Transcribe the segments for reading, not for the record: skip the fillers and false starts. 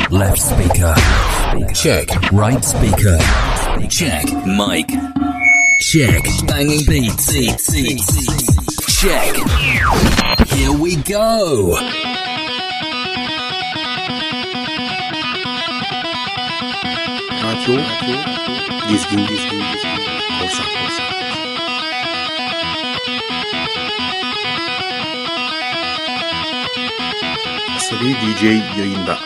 Left speaker. Check. Right speaker. Check. Mic. Check. Banging beats. Check. Here we go. Radyo dizgin korsan. Asabi DJ yayında.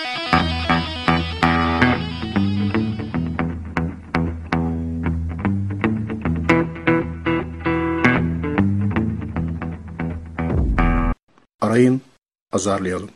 Arayın, azarlayalım.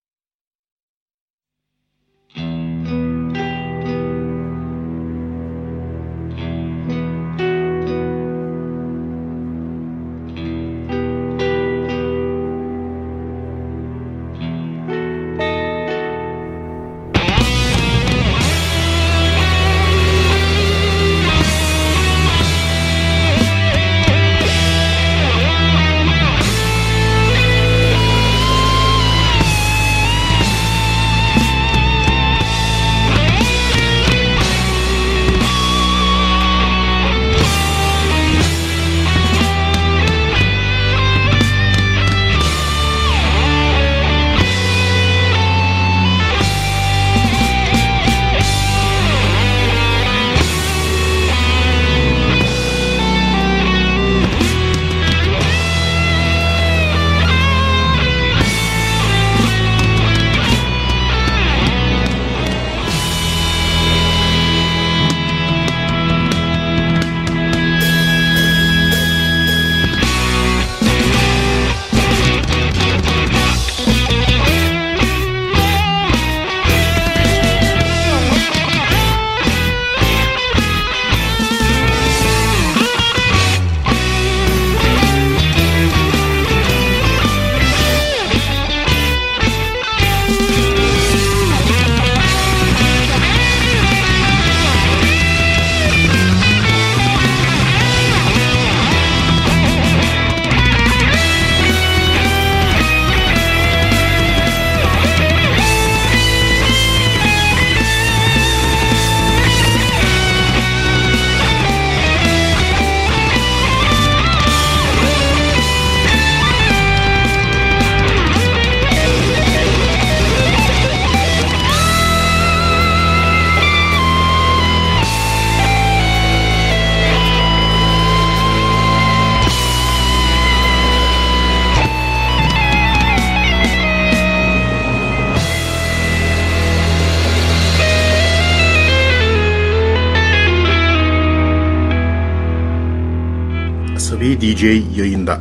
DJ yayında.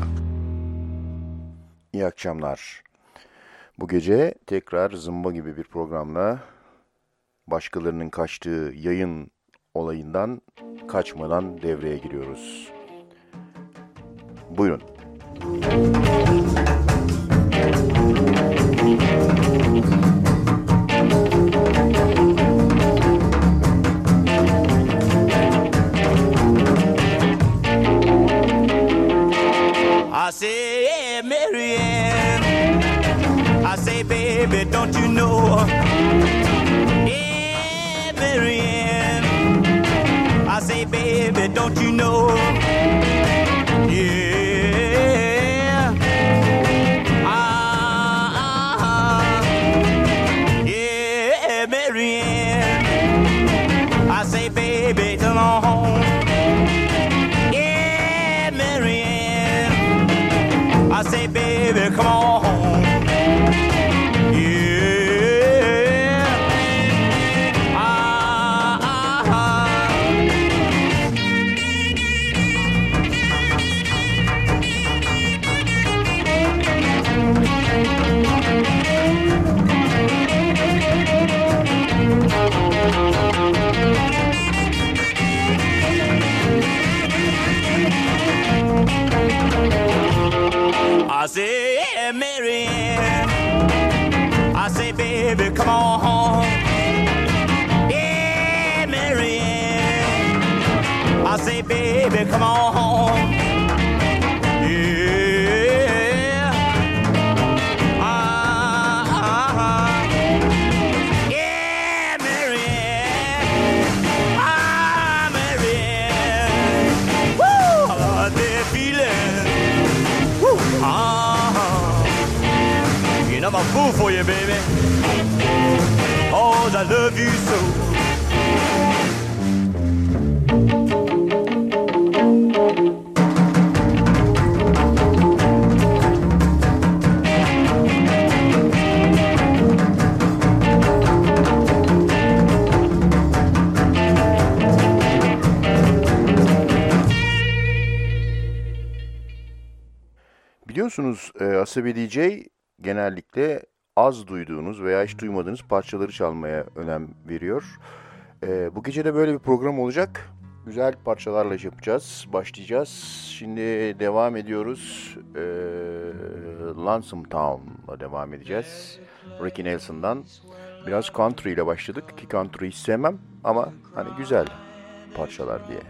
İyi akşamlar. Bu gece tekrar zımba gibi bir programla başkalarının kaçtığı yayın olayından kaçmadan devreye giriyoruz. Buyurun. I say, yeah, Marianne. I say, baby, don't you know? Yeah, Marianne. I say, baby, don't you know? Yeah. Yeah, Marianne. I say, baby, come on home. I say, baby, come on home. Yeah. I say, yeah, Marianne. I say, baby, come on home. Yeah, Marianne. I say, baby, come on home. Yeah. Yeah. I'm a fool for you, baby. Oh, I love you so. Biliyorsunuz Asabi DJ genellikle az duyduğunuz veya hiç duymadığınız parçaları çalmaya önem veriyor. Bu gece de böyle bir program olacak. Güzel parçalarla yapacağız, başlayacağız. Şimdi devam ediyoruz. Lonesome Town'la devam edeceğiz. Ricky Nelson'dan. Biraz country ile başladık ki country hiç sevmem ama hani güzel parçalar diye.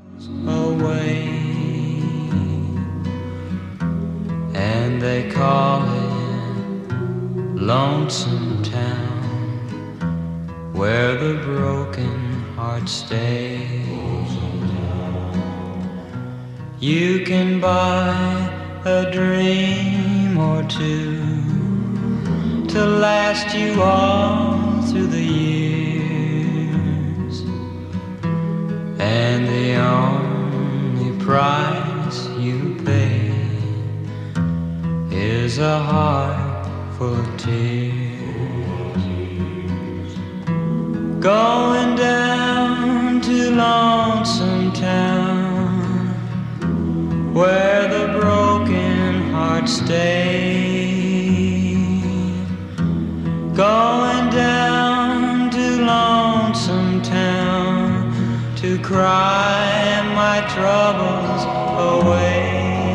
And they call it Lonesome Town, where the broken heart stays. You can buy a dream or two to last you all through the years, and the only price you pay is a heart full of tears. Going down to Lonesome Town, where the broken heart stay. Going down to Lonesome Town to cry my troubles away.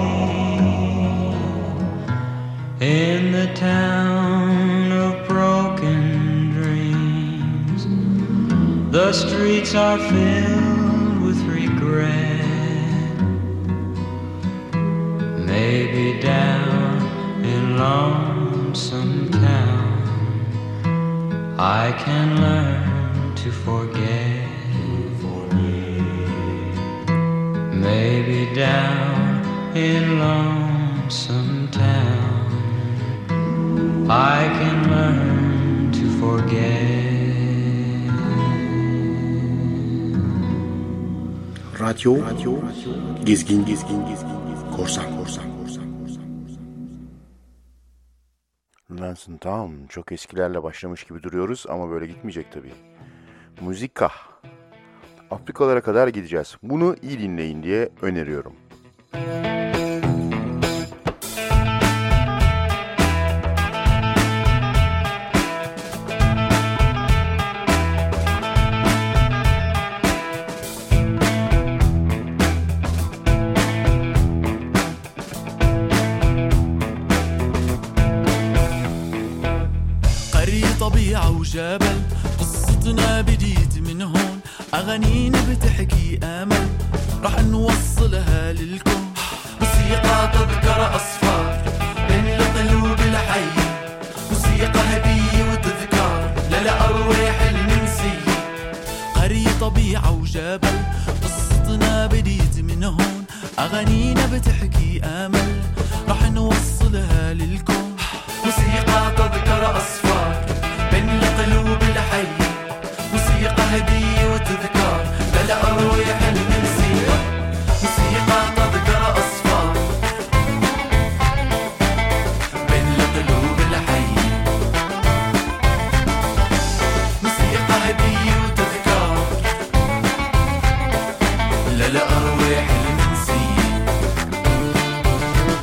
In the town of broken dreams, the streets are filled with regret. Maybe down in Lonesome Town I can learn to forget. Maybe down in Lonesome Town I can learn to forget. Radyo Gezgin Korsan. Lonesome Town çok eskilerle başlamış gibi duruyoruz ama böyle gitmeyecek tabii. Müzika. Afrikalara kadar gideceğiz. Bunu iyi dinleyin diye öneriyorum. وجبل قصتنا بديت من هون أغانينا بتحكي أمل رح نوصلها للكون موسيقى تذكر أصفار بين القلوب الحي موسيقى هدية وتذكار للأرواح المنسية قرية طبيعة وجبل قصتنا بديت من هون أغانينا بتحكي أمل رح نوصلها للكون موسيقى تذكر أصفار بين القلوب الحي موسيقى هدية وتذكار للأرواح المنسية موسيقى تذكر أصفار بين القلوب الحي موسيقى هدية وتذكار للأرواح المنسية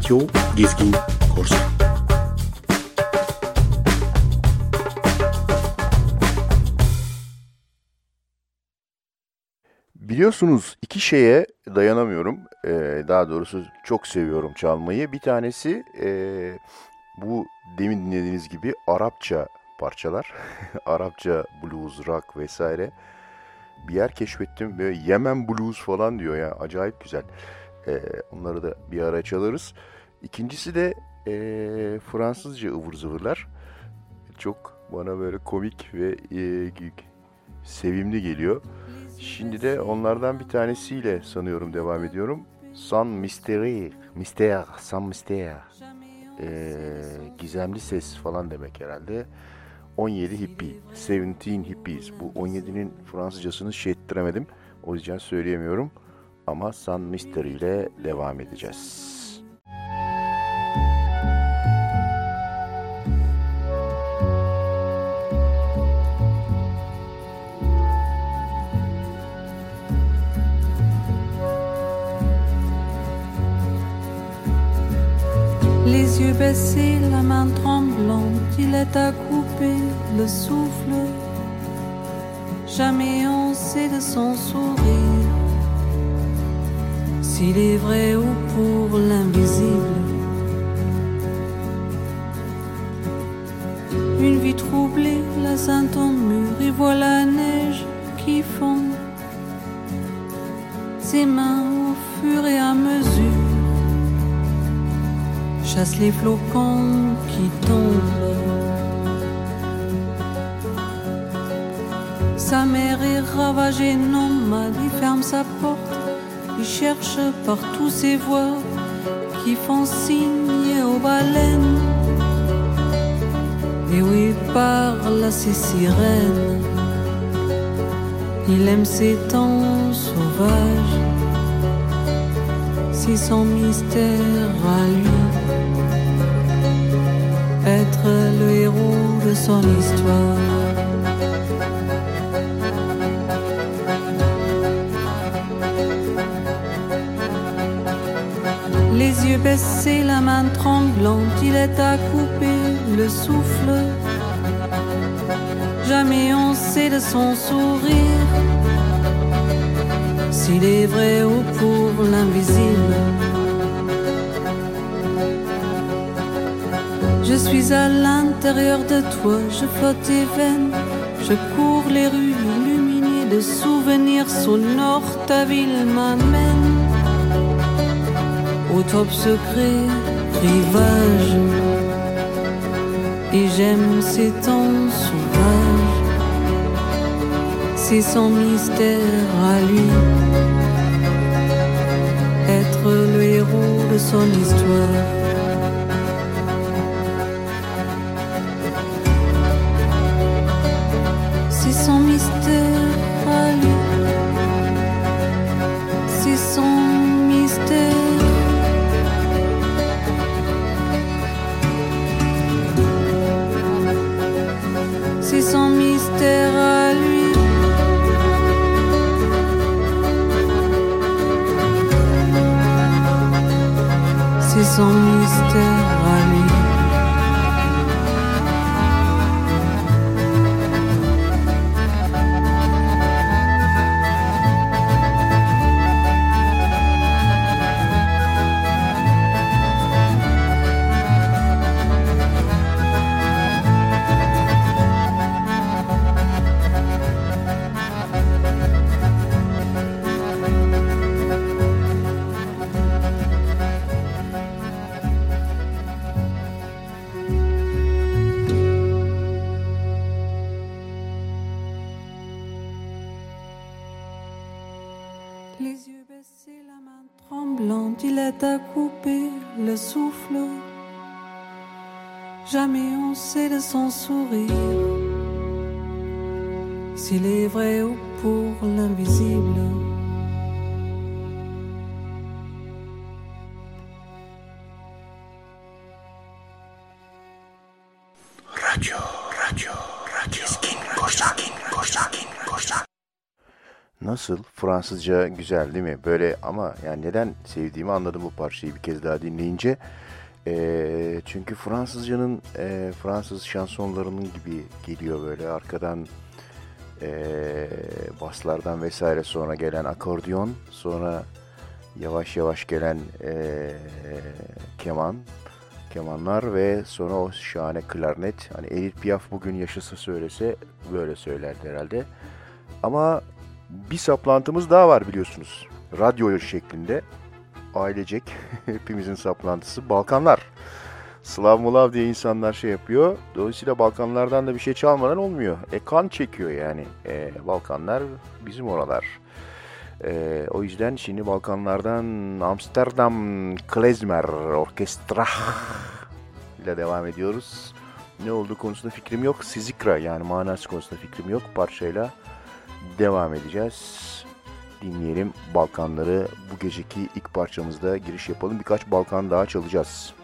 Radyo Gezgin Korsan. Biliyorsunuz iki şeye dayanamıyorum. Daha doğrusu çok seviyorum çalmayı. Bir tanesi bu demin dinlediğiniz gibi Arapça parçalar. Arapça blues, rock vesaire. Bir yer keşfettim. Böyle Yemen blues falan diyor ya. Acayip güzel. Onları da bir ara çalarız. İkincisi de Fransızca ıvır zıvırlar. Çok bana böyle komik ve sevimli geliyor. Şimdi de onlardan bir tanesiyle sanıyorum devam ediyorum. Sans mystère, sans mystère. Gizemli ses falan demek herhalde. 17 hippie, 17 hippies. Bu 17'nin Fransızcasını ettiremedim. O yüzden söyleyemiyorum. Ama Sans Mystère ile devam edeceğiz. Les yeux baissés, la main tremblante, il est à couper le souffle. Jamais on sait de son sourire s'il est vrai ou pour l'invisible. Une vie troublée, la sainte en mur, et voit la neige qui fond. Ses mains au fur et à mesure chasse les flocons qui tombent. Sa mère est ravagée, nomade, il ferme sa porte, il cherche partout ses voix qui font signe aux baleines. Et où il parle à ses sirènes, il aime ses temps sauvages, c'est son mystère à lui. Être le héros de son histoire. Les yeux baissés, la main tremblante, il est à couper le souffle. Jamais on sait de son sourire s'il est vrai ou pour l'invisible. Je suis à l'intérieur de toi, je flotte tes veines, je cours les rues illuminées de souvenirs sonores, ta ville m'amène au top secret, rivage, et j'aime ces temps sauvages, c'est son mystère à lui, être le héros de son histoire. C'est son mystère à lui, c'est son mystère. C'est son mystère à lui. C'est son mystère à lui. Les yeux baissés, la main tremblante, il est à couper le souffle. Jamais on sait de son sourire s'il est vrai ou pour l'invisible. Radyo, Gezgin Korsan. Nasıl? Fransızca güzel değil mi? Böyle ama yani neden sevdiğimi anladım bu parçayı bir kez daha dinleyince. Çünkü Fransızcanın Fransız şansonlarının gibi geliyor böyle arkadan baslardan vesaire sonra gelen akordeon, sonra yavaş yavaş gelen kemanlar ve sonra o şahane klarnet. Hani Edith Piaf bugün yaşasa söylese böyle söylerdi herhalde. Ama bir saplantımız daha var biliyorsunuz. Radyo şeklinde. Ailecek hepimizin saplantısı Balkanlar. Slav Molav diye insanlar şey yapıyor. Dolayısıyla Balkanlardan da bir şey çalmadan olmuyor. Kan çekiyor yani. Balkanlar bizim oralar. O yüzden şimdi Balkanlardan Amsterdam Klezmer Orkestra ile devam ediyoruz. Ne olduğu konusunda fikrim yok. Sizikra yani manası konusunda fikrim yok. Parçayla devam edeceğiz. Dinleyelim Balkanları. Bu geceki ilk parçamızda giriş yapalım. Birkaç Balkan daha çalacağız.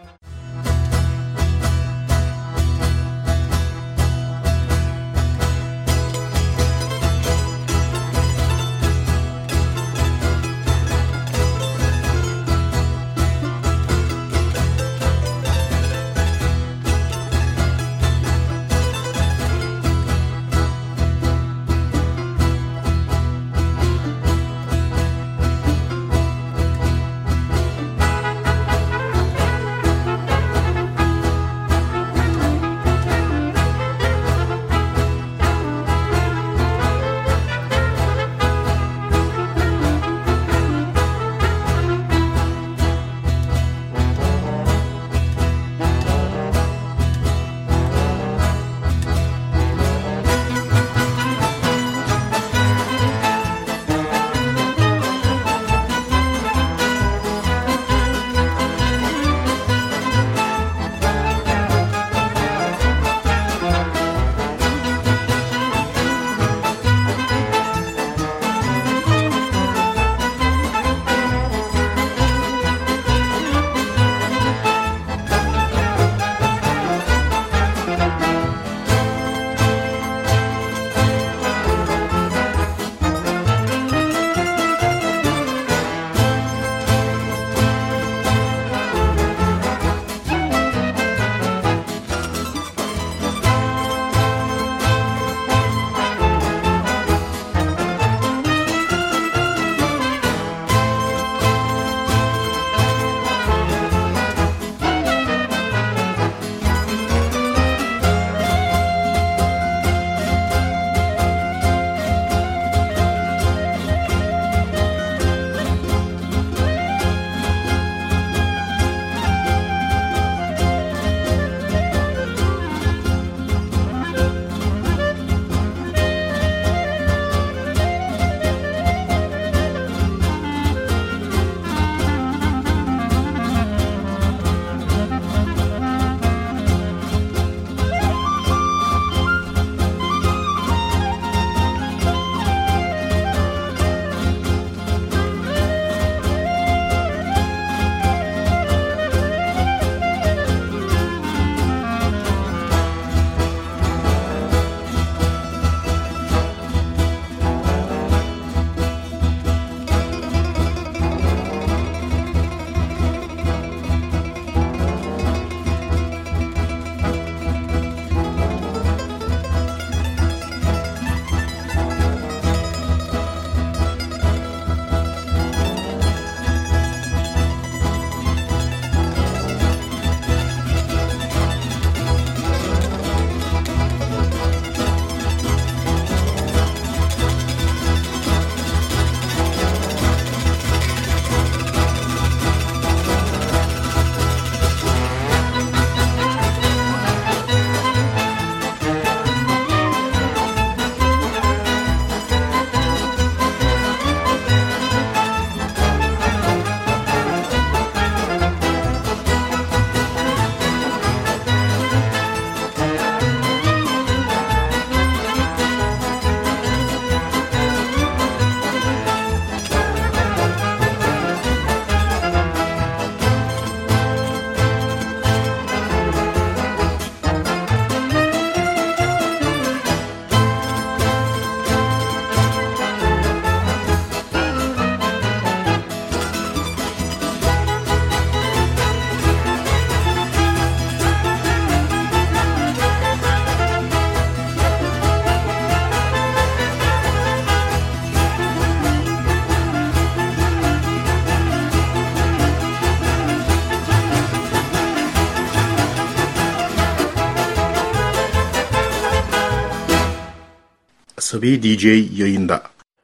Asabi DJ yayında.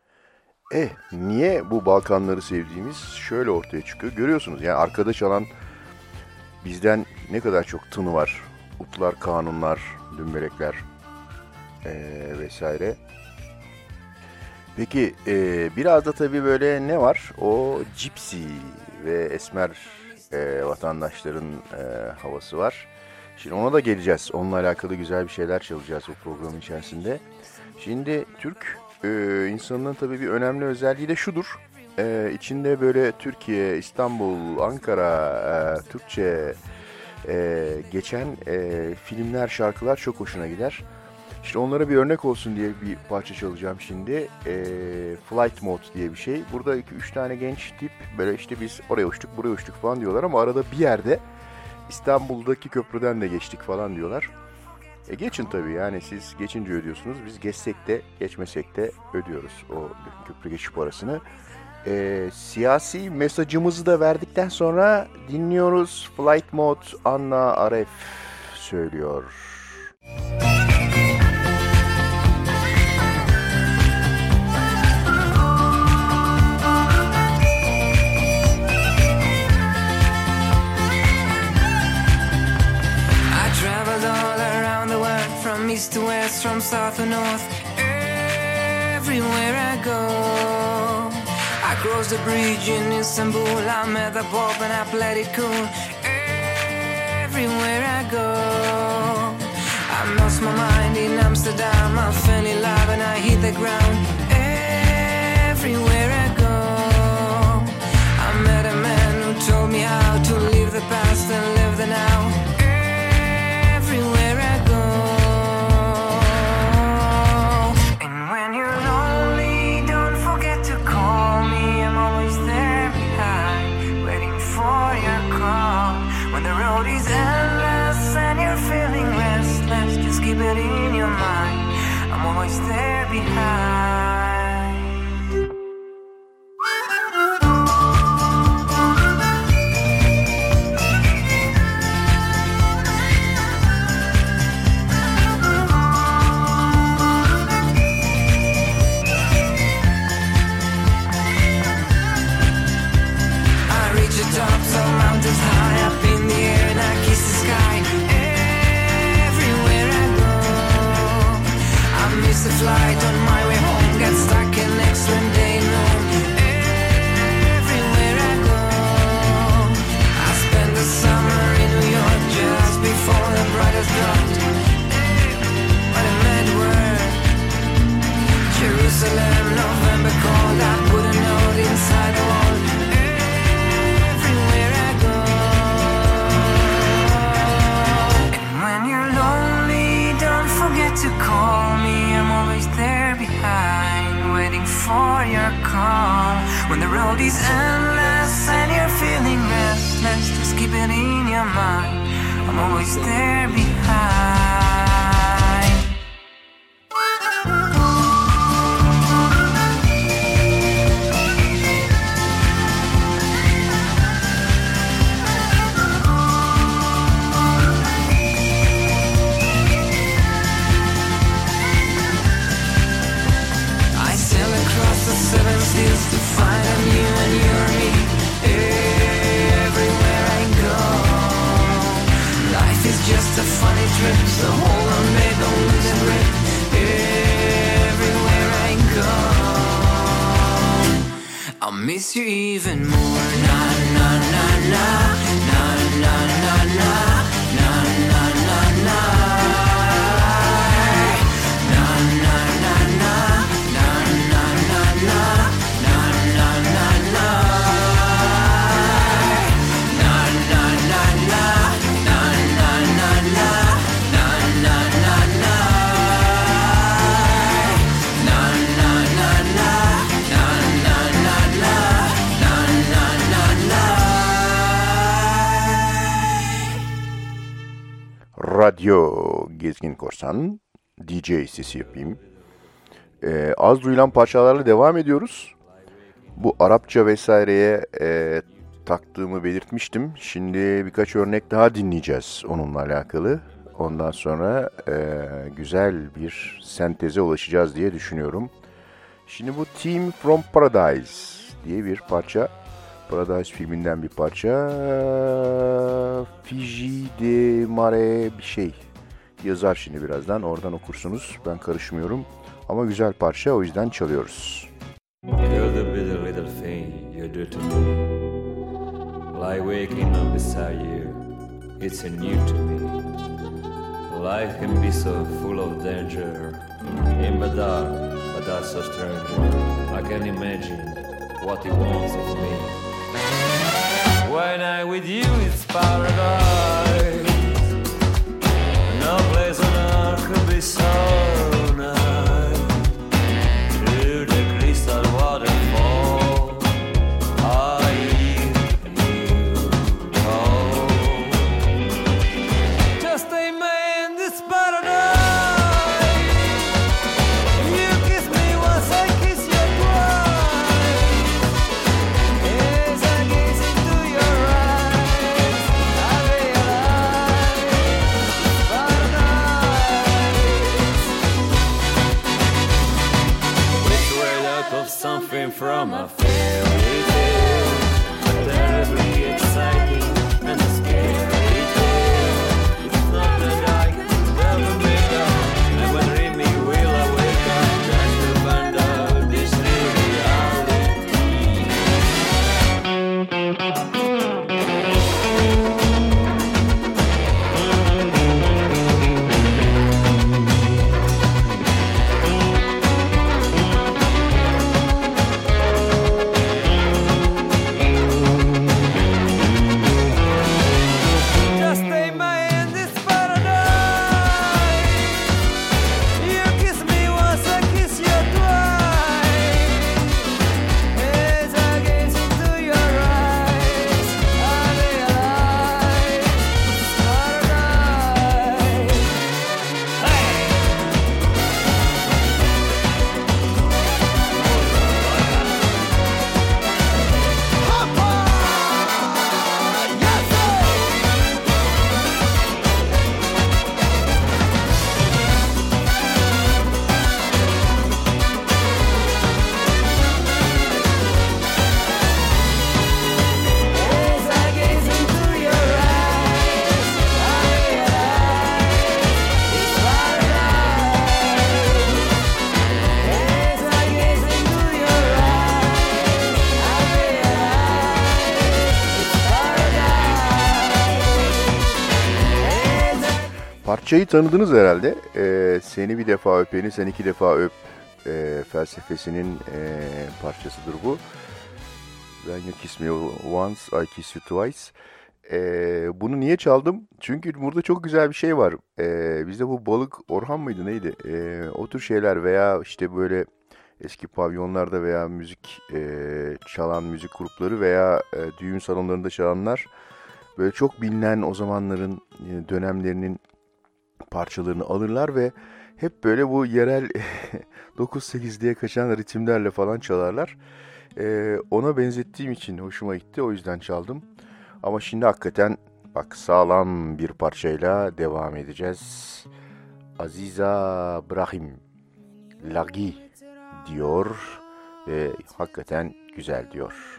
Niye bu Balkanları sevdiğimiz şöyle ortaya çıkıyor. Görüyorsunuz yani arkada çalan bizden ne kadar çok tını var. Utlar, kanunlar, dümbelekler vesaire. Peki biraz da tabii böyle ne var? O Gypsy ve Esmer vatandaşların havası var. Şimdi ona da geleceğiz. Onunla alakalı güzel bir şeyler çalacağız bu programın içerisinde. Şimdi Türk insanının tabii bir önemli özelliği de şudur. İçinde böyle Türkiye, İstanbul, Ankara, Türkçe geçen filmler, şarkılar çok hoşuna gider. İşte onlara bir örnek olsun diye bir parça çalacağım şimdi. Flight Mode diye bir şey. Burada 2-3 tane genç tip böyle işte biz oraya uçtuk, buraya uçtuk falan diyorlar ama arada bir yerde İstanbul'daki köprüden de geçtik falan diyorlar. Geçin tabii yani siz geçince ödüyorsunuz. Biz geçsek de geçmesek de ödüyoruz o köprü geçiş parasını. Siyasi mesajımızı da verdikten sonra dinliyoruz. Flight Mode Anna Aref söylüyor. East to west, from south to north, everywhere I go. I crossed the bridge in Istanbul, I met the Pope and I played it cool. Everywhere I go, I lost my mind in Amsterdam, I fell in love and I hit the ground. Everywhere I go, I met a man who told me how to live the past and live the now. Everywhere I go. Keep it in your mind, I'm always there behind. I reach the tops of mountains high up in the air and I kiss the sky. The flight on my way home, get stuck in next one day noon. Everywhere I go, I spend the summer in New York just before the brightest dropped. What a mad word. Jerusalem, November cold, I put a note inside the wall. Everywhere I go. And when you're lonely, don't forget to call me. I'm always there behind, waiting for your call. When the road is endless and you're feeling restless, just keep it in your mind, I'm always there behind. To find a you and you're me. Everywhere I go, life is just a funny trip, so hold on babe, don't lose a grip. Everywhere I go, I'll miss you even more. Na na na na, na na na na, na na na na, na na na na, na na na na. Radyo Gezgin Korsan, DJ sesi yapayım. Az duyulan parçalarla devam ediyoruz. Bu Arapça vesaireye taktığımı belirtmiştim. Şimdi birkaç örnek daha dinleyeceğiz onunla alakalı. Ondan sonra güzel bir senteze ulaşacağız diye düşünüyorum. Şimdi bu Team from Paradise diye bir parça. Paradise filminden bir parça. Fiji de Mare bir şey. Yazar şimdi birazdan. Oradan okursunuz. Ben karışmıyorum. Ama güzel parça, o yüzden çalıyoruz. You're the bitter little thing you do to me. Like waking up beside you, it's a new to me. Life can be so full of danger, in the dark, but that's so strange. I can imagine what he wants of me. When I'm with you, it's paradise. No place on earth could be so nice. To the crystal waterfall, I leave you home. Just a man, this paradise. You kiss me once, I kiss you twice. As I gaze into your eyes, I realize paradise. It's right out of something from a fairy tale, but terribly exciting and a scary tale. It's not that I can never make up, never dream me will awaken just to find out this new reality. Just a man, this paradise. You kiss me once, I kiss you twice. As I gaze into your eyes, I realize it's paradise. As I gaze into your eyes, I realize it's paradise. As I gaze into your eyes, I realize it's paradise. Parçayı tanıdınız herhalde. Seni bir defa öpeni, sen iki defa öp felsefesinin parçasıdır bu. When you kiss me once, I kiss you twice. Bunu niye çaldım? Çünkü burada çok güzel bir şey var. Bizde bu Balık Orhan mıydı neydi? O tür şeyler veya işte böyle eski pavyonlarda veya müzik çalan müzik grupları veya düğün salonlarında çalanlar böyle çok bilinen o zamanların dönemlerinin parçalarını alırlar ve hep böyle bu yerel 9-8 diye kaçan ritimlerle falan çalarlar. Ona benzettiğim için hoşuma gitti, o yüzden çaldım. Ama şimdi hakikaten bak sağlam bir parçayla devam edeceğiz. Aziza Brahim Lagi diyor ve hakikaten güzel diyor.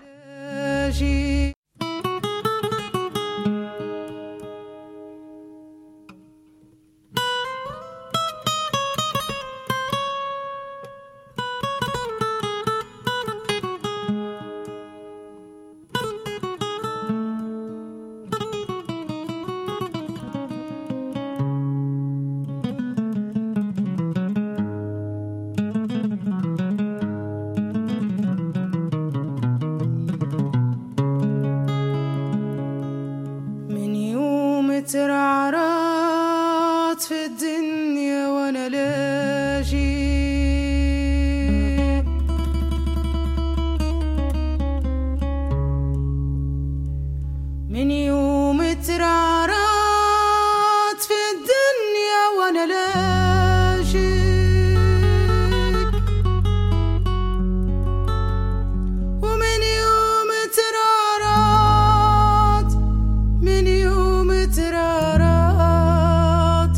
من يوم ترعرعت في الدنيا وانا لاجي من يوم ترعرعت في الدنيا وانا لاجي ومن يوم ترعرعت من يوم ترعرعت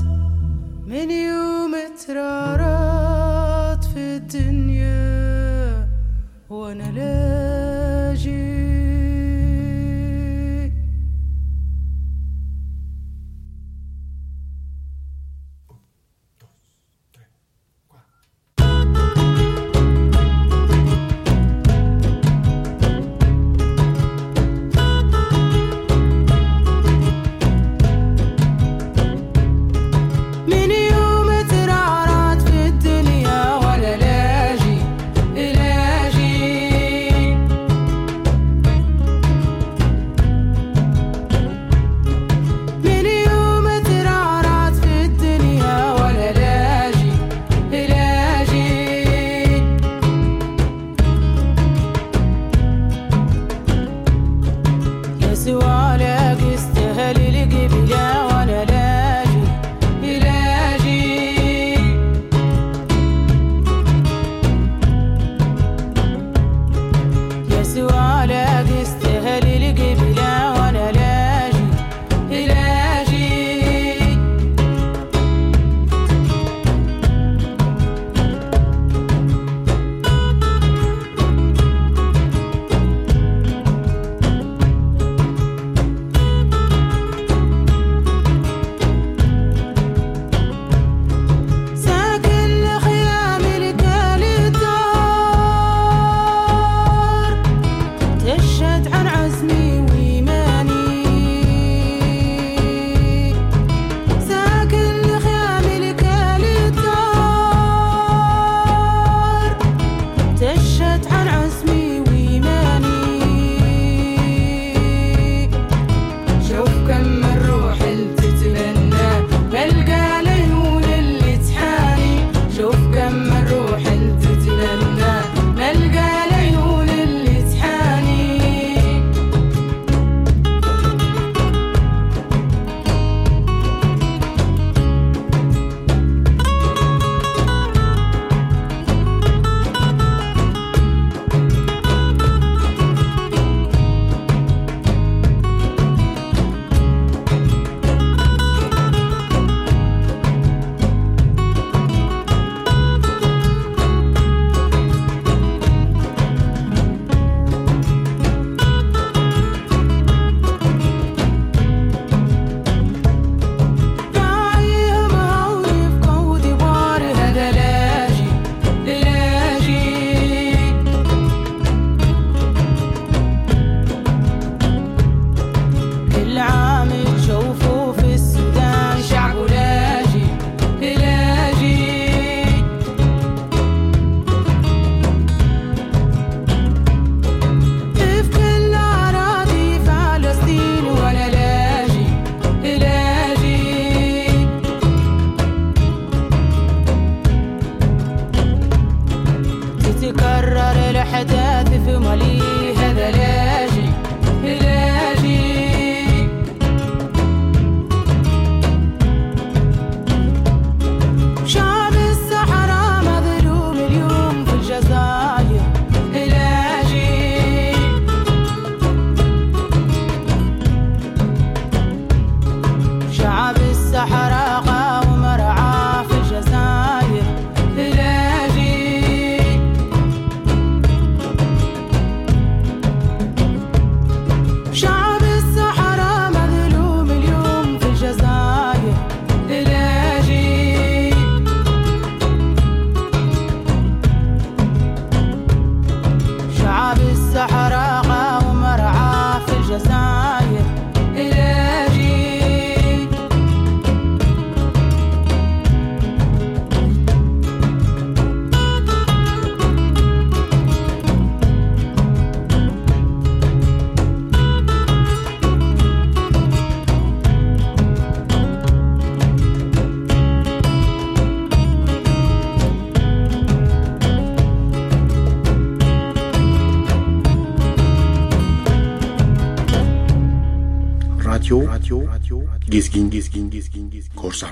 Gezgin korsan.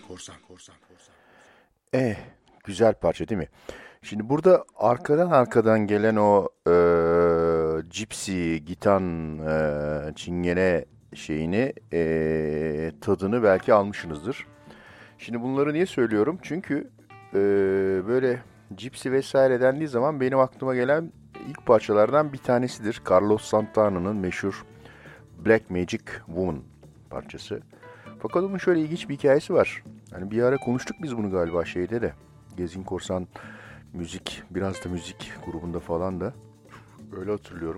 Güzel parça değil mi? Şimdi burada arkadan gelen o cipsi, gitan, çingene şeyini, tadını belki almışsınızdır. Şimdi bunları niye söylüyorum? Çünkü böyle cipsi vesaire dendiği zaman benim aklıma gelen ilk parçalardan bir tanesidir. Carlos Santana'nın meşhur Black Magic Woman parçası. Fakat onun şöyle ilginç bir hikayesi var. Hani bir ara konuştuk biz bunu galiba şeyde de. Gezgin Korsan müzik, biraz da müzik grubunda falan da. Öyle hatırlıyorum.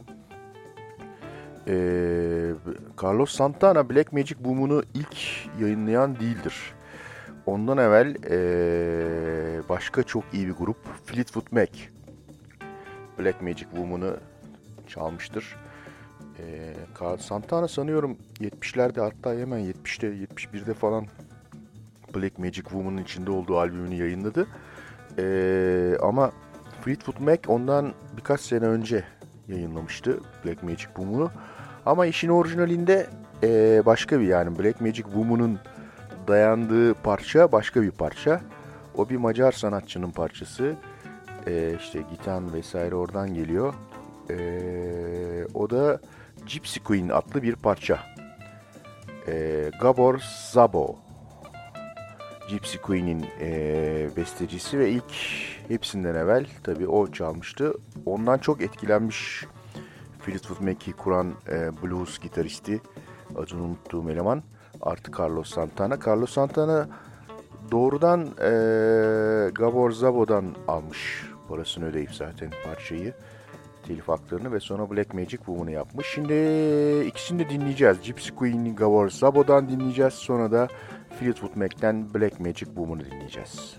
Carlos Santana Black Magic Woman'ı ilk yayınlayan değildir. Ondan evvel başka çok iyi bir grup Fleetwood Mac Black Magic Woman'ı çalmıştır. Santana sanıyorum 70'lerde, hatta hemen 70'te 71'de falan Black Magic Woman'ın içinde olduğu albümünü yayınladı. Ama Fleetwood Mac ondan birkaç sene önce yayınlamıştı Black Magic Woman'ı. Ama işin orijinalinde başka bir, yani Black Magic Woman'ın dayandığı parça başka bir parça. O bir Macar sanatçının parçası. İşte gitan vesaire oradan geliyor. O da Gypsy Queen adlı bir parça. Gabor Szabo Gypsy Queen'in bestecisi ve ilk hepsinden evvel tabii o çalmıştı. Ondan çok etkilenmiş Fleetwood Mac'i kuran blues gitaristi, adını unuttuğum eleman, artı Carlos Santana. Carlos Santana doğrudan Gabor Szabo'dan almış parasını ödeyip zaten parçayı, telif haklarını, ve sonra Black Magic Woman'ı yapmış. Şimdi ikisini de dinleyeceğiz. Gypsy Queen'i Gabor Szabo'dan dinleyeceğiz. Sonra da Fleetwood Mac'ten Black Magic Woman'ı dinleyeceğiz.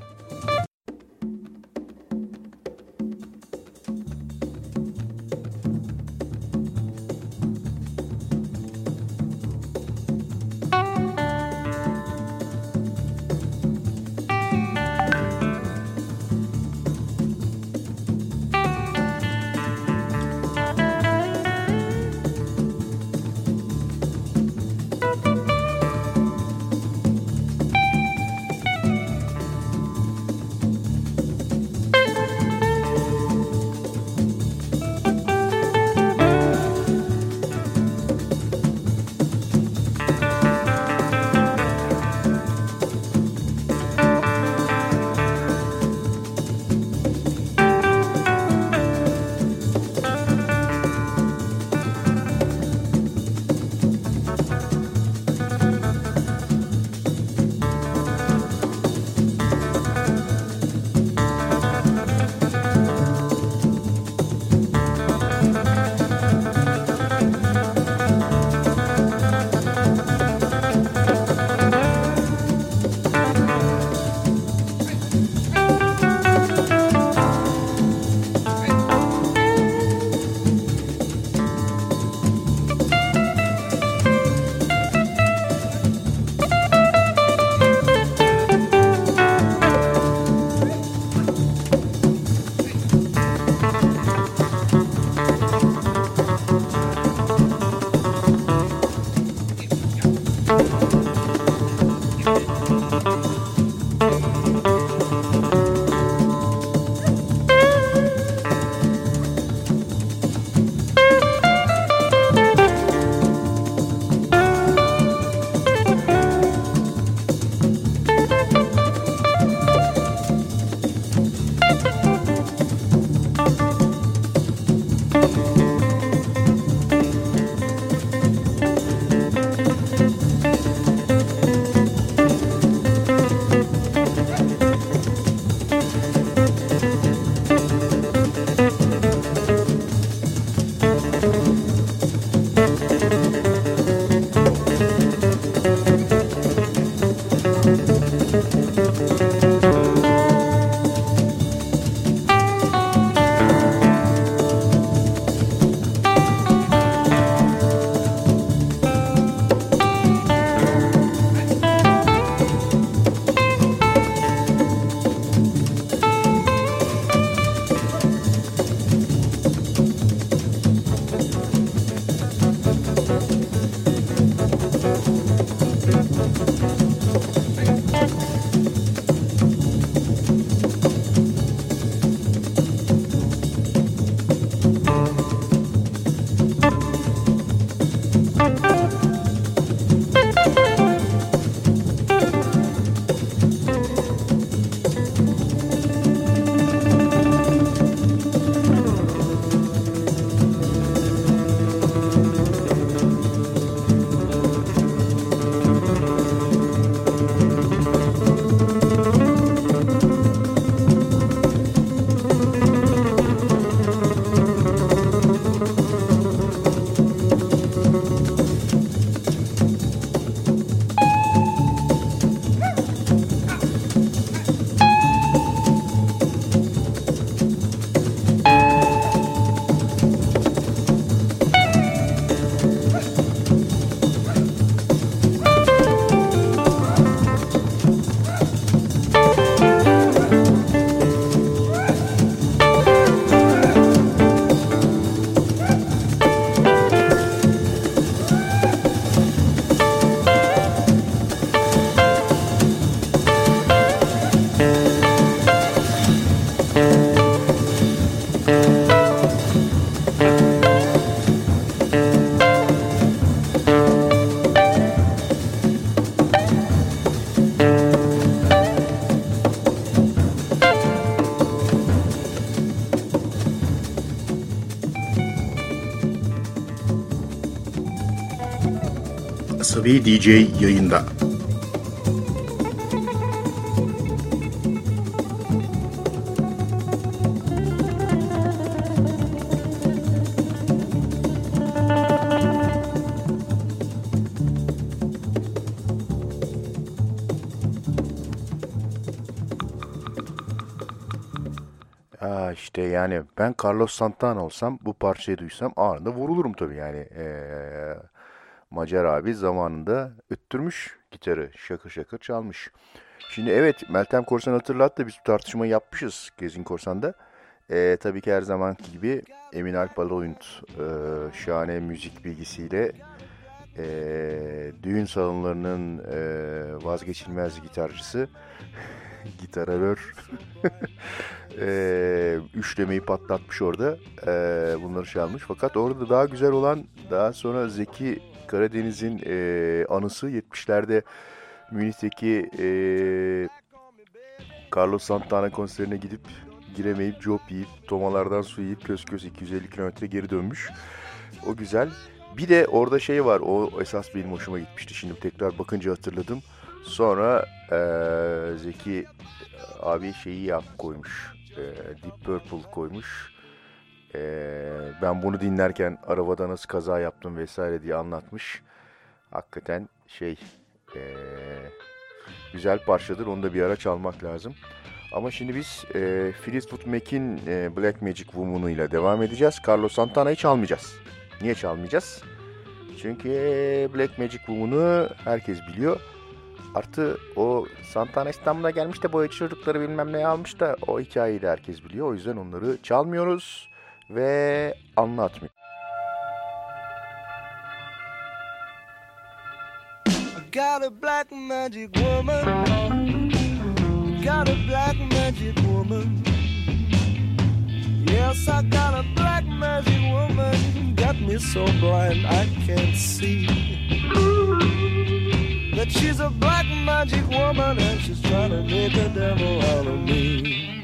Asabi DJ yayında. İşte yani ben Carlos Santana olsam bu parçayı duysam anında vurulurum tabii yani. Macar abi zamanında öttürmüş gitarı, şakır şakır çalmış. Şimdi evet, Meltem Korsan hatırlattı, biz bu tartışmayı yapmışız Gezgin Korsan'da. Tabii ki her zamanki gibi Emin Alp Alaoyunt şahane müzik bilgisiyle düğün salonlarının vazgeçilmez gitarcısı, gitarör, üçlemeyi patlatmış orada, bunları çalmış. Fakat orada daha güzel olan, daha sonra Zeki Karadeniz'in anısı 70'lerde Münih'teki Carlos Santana konserine gidip giremeyip cop yiyip tomalardan su yiyip kös kös 250 kilometre geri dönmüş. O güzel. Bir de orada şey var, o esas benim hoşuma gitmişti. Şimdi tekrar bakınca hatırladım. Sonra Zeki abi şeyi koymuş, Deep Purple koymuş. Ben bunu dinlerken arabada nasıl kaza yaptım vesaire diye anlatmış. Hakikaten güzel parçadır, onu da bir ara çalmak lazım. Ama şimdi biz Fleetwood Mac'in Black Magic Woman'ı ile devam edeceğiz. Carlos Santana'yı çalmayacağız. Niye çalmayacağız? Çünkü Black Magic Woman'ı herkes biliyor. Artı o Santana İstanbul'a gelmiş de boyacı çocukları bilmem ne almış da o hikayeyi de herkes biliyor. O yüzden onları çalmıyoruz ve anlatmıyoruz. I got a black magic woman. Got a black magic woman. Yes, I got a black magic woman. Got me so blind I can't see that she's a black magic woman and she's trying to make a devil out of me.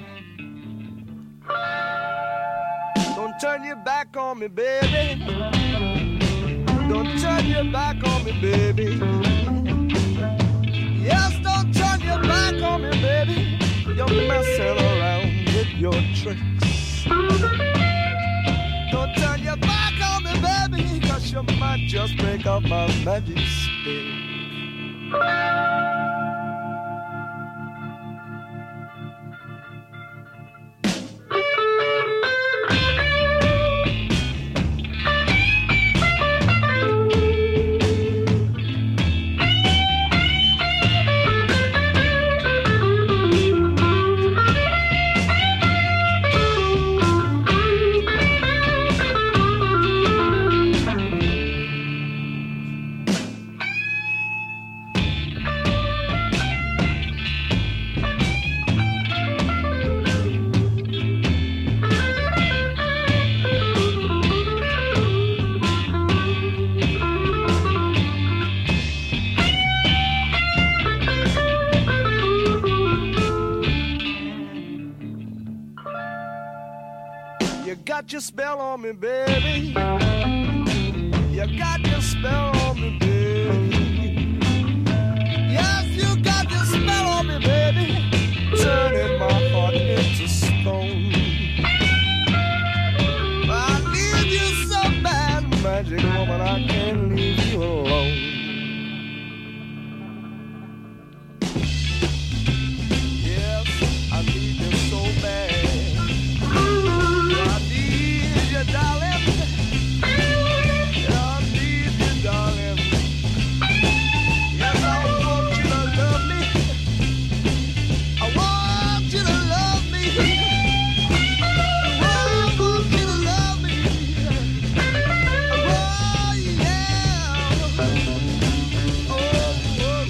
Don't turn your back on me, baby. Don't turn your back on me, baby. Yes, don't turn your back on me, baby. You're messing around with your tricks. Don't turn your back on me, baby, 'cause you might just break up my magic stick. Got your spell on me, baby. You got your spell on me, baby. Yes, you got your spell on me, baby. Turning my heart into stone. I need you so bad, magic woman, I can't leave you alone. Yes, I need you so bad. Darling, I need you, darling. Yes, I want you to love me. I want you to love me. I want you to love me. Oh, yeah. Oh,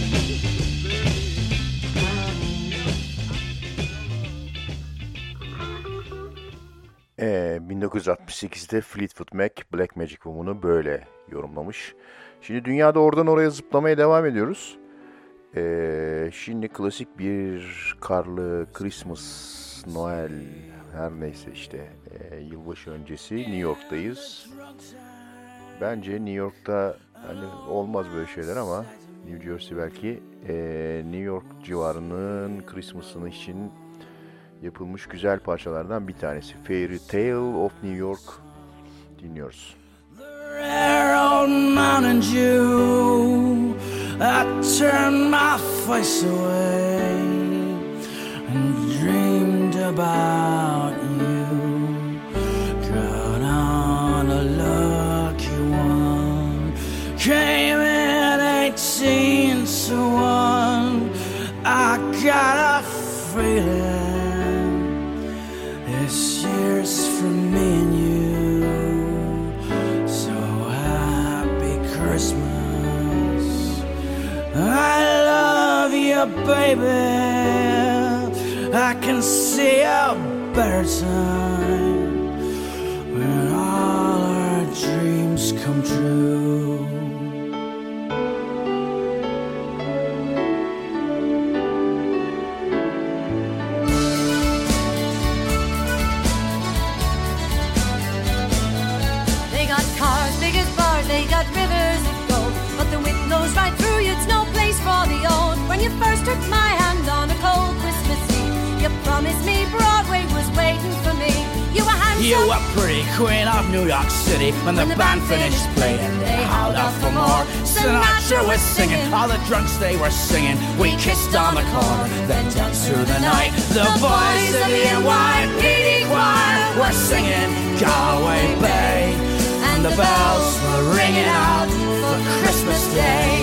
baby. 1968'de Fleetwood Mac Black Magic Woman'ı böyle yorumlamış. Şimdi dünyada oradan oraya zıplamaya devam ediyoruz. Şimdi klasik bir karlı Christmas, Noel, her neyse işte yılbaşı öncesi New York'tayız. Bence New York'ta hani olmaz böyle şeyler ama New Jersey belki New York civarının Christmas'ını için yapılmış güzel parçalardan bir tanesi. Fairy Tale of New York dinliyoruz. Rare old Mountain Dew, I turned my face away and dreamed about you. Got on a lucky one, came in 18 to 1. I got a feeling this year's for me and you. So happy Christmas, I love you, baby. I can see a better time when all our dreams come true. They got cars big as bars, they got rivers of gold, but the wind blows right through you, it's no place for the old. When you first took my hand on a cold Christmas Eve, you promised me Broadway was waiting for me. You were handsome, you were pretty queen of New York City. When the band finished playing, they howled out for more. Sinatra was singing, all the drunks they were singing. We kissed on the corner, then danced through the night. The boys of the NYPD choir were singing Galway Bay, and the bells were ringing out for Christmas Day.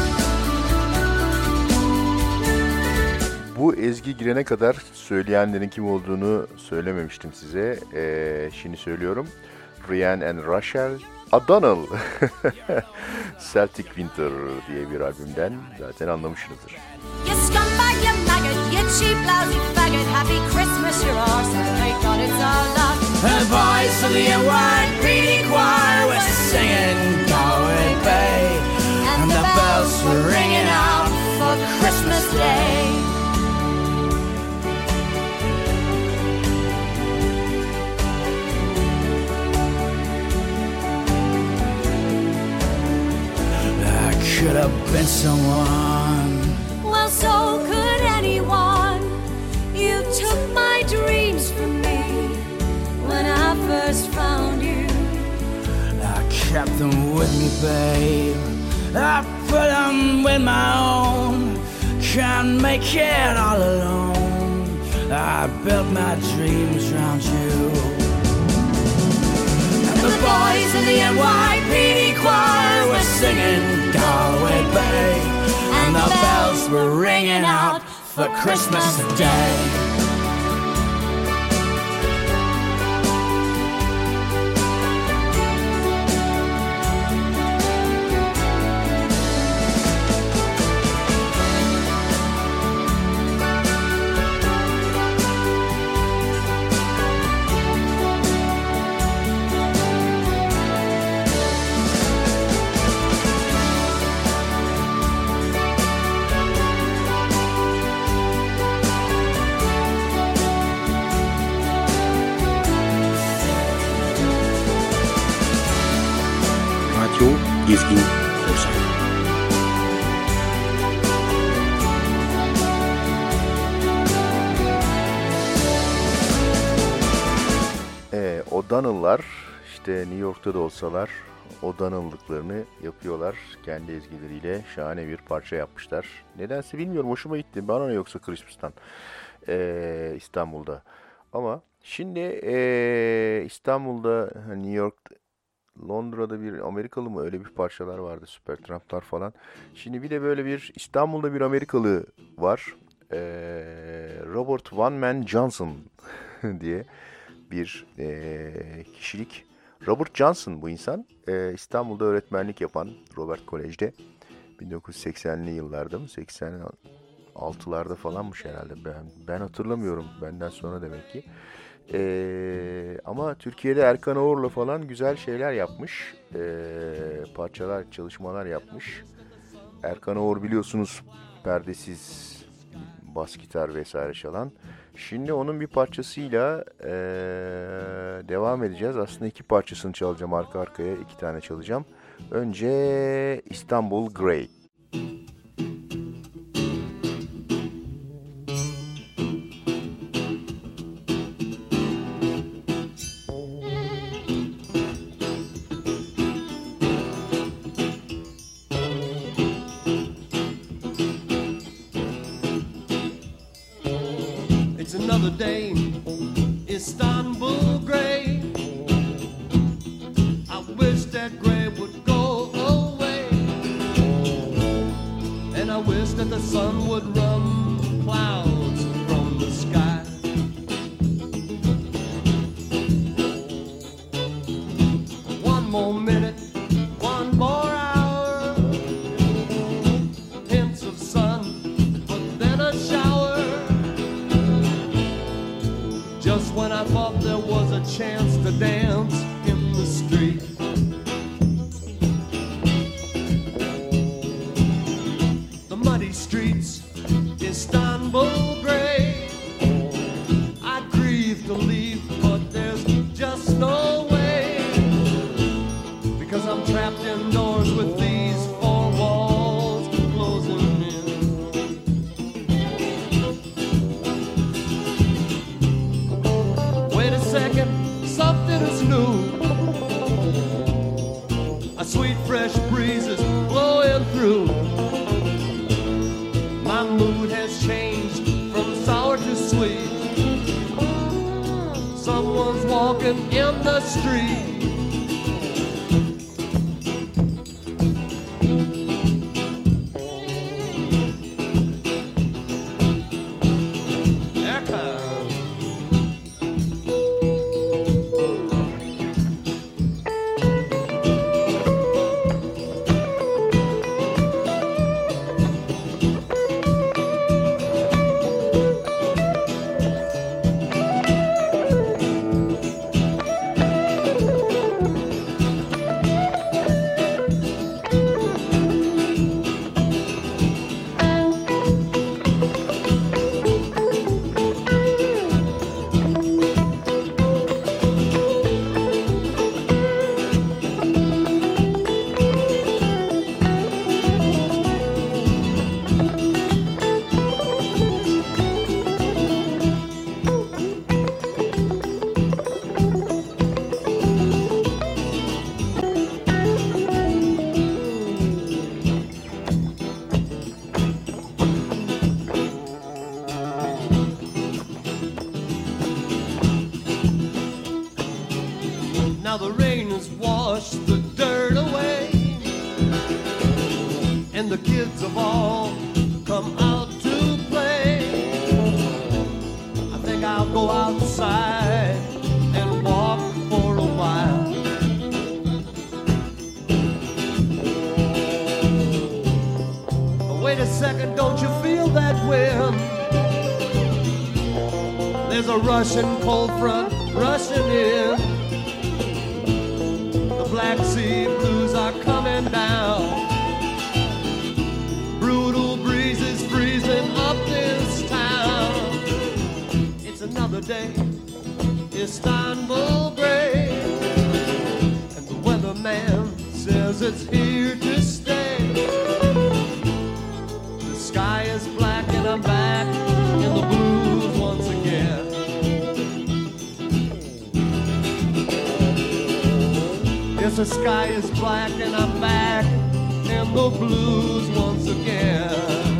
Bu ezgi girene kadar söyleyenlerin kim olduğunu söylememiştim size. Şimdi söylüyorum. Ryan and Rachel O'Donnell. Celtic Winter diye bir albümden zaten anlamışsınızdır. you scumbag, you maggot, you cheap lousy faggot. Happy Christmas, you're ours, and thank God it's our love. The boys of the NYPD choir were singing Galway Bay, and the bells were ringing out for Christmas Day. I could have been someone. Well, so could anyone. You took my dreams from me when I first found you. I kept them with me, babe. I put them with my own. Can't make it all alone. I built my dreams around you. And the boys in the NYPD choir were singing Galway Bay, and the bells were ringing out for Christmas Day. Radyo Gezgin Korsan. O'Donnell'lar işte New York'ta da olsalar O'Donnell'lıklarını yapıyorlar. Kendi ezgileriyle şahane bir parça yapmışlar. Nedense bilmiyorum, hoşuma gitti. Bana ne yoksa Christmas'tan İstanbul'da. Ama şimdi İstanbul'da, New York, Londra'da bir Amerikalı mı, öyle bir parçalar vardı, Supertramp'lar falan. Şimdi bir de böyle bir İstanbul'da bir Amerikalı var. Robert One Man Johnson diye bir kişilik. Robert Johnson bu insan. İstanbul'da öğretmenlik yapan Robert Kolej'de 1980'li yıllarda mı, 86'larda falanmış herhalde. Ben hatırlamıyorum, benden sonra demek ki. Ama Türkiye'de Erkan Oğur'la falan güzel şeyler yapmış. Parçalar, çalışmalar yapmış. Erkan Oğur biliyorsunuz perdesiz bas gitar vesaire çalan. Şimdi onun bir parçasıyla devam edeceğiz. Aslında iki parçasını çalacağım arka arkaya. 2 tane çalacağım. Önce İstanbul Grey. Another day, Istanbul Grey. I wish that gray would go away, and I wish that the sun would run clouds from the sky. One more minute, one more hour, hints of sun, but then a shower. Just when I thought there was a chance to dance in the street, the muddy streets, Istanbul Grey. I grieve to leave, but there's just no way, because I'm trapped indoors with these four walls closing in. Wait a second, something is new. A sweet fresh breeze is blowing through. My mood has changed from sour to sweet. Someone's walking in the street. Now the rain has washed the dirt away, and the kids have all come out to play. I think I'll go outside and walk for a while. Wait a second, don't you feel that wind? There's a Russian cold front rushing in. The Black Sea blues are coming down. Brutal breezes freezing up this town. It's another day, Istanbul Grey, and the weatherman says it's here to stay. The sky is black and I'm back in the blues once again. Yes, the sky is black and I'm back in the blues once again.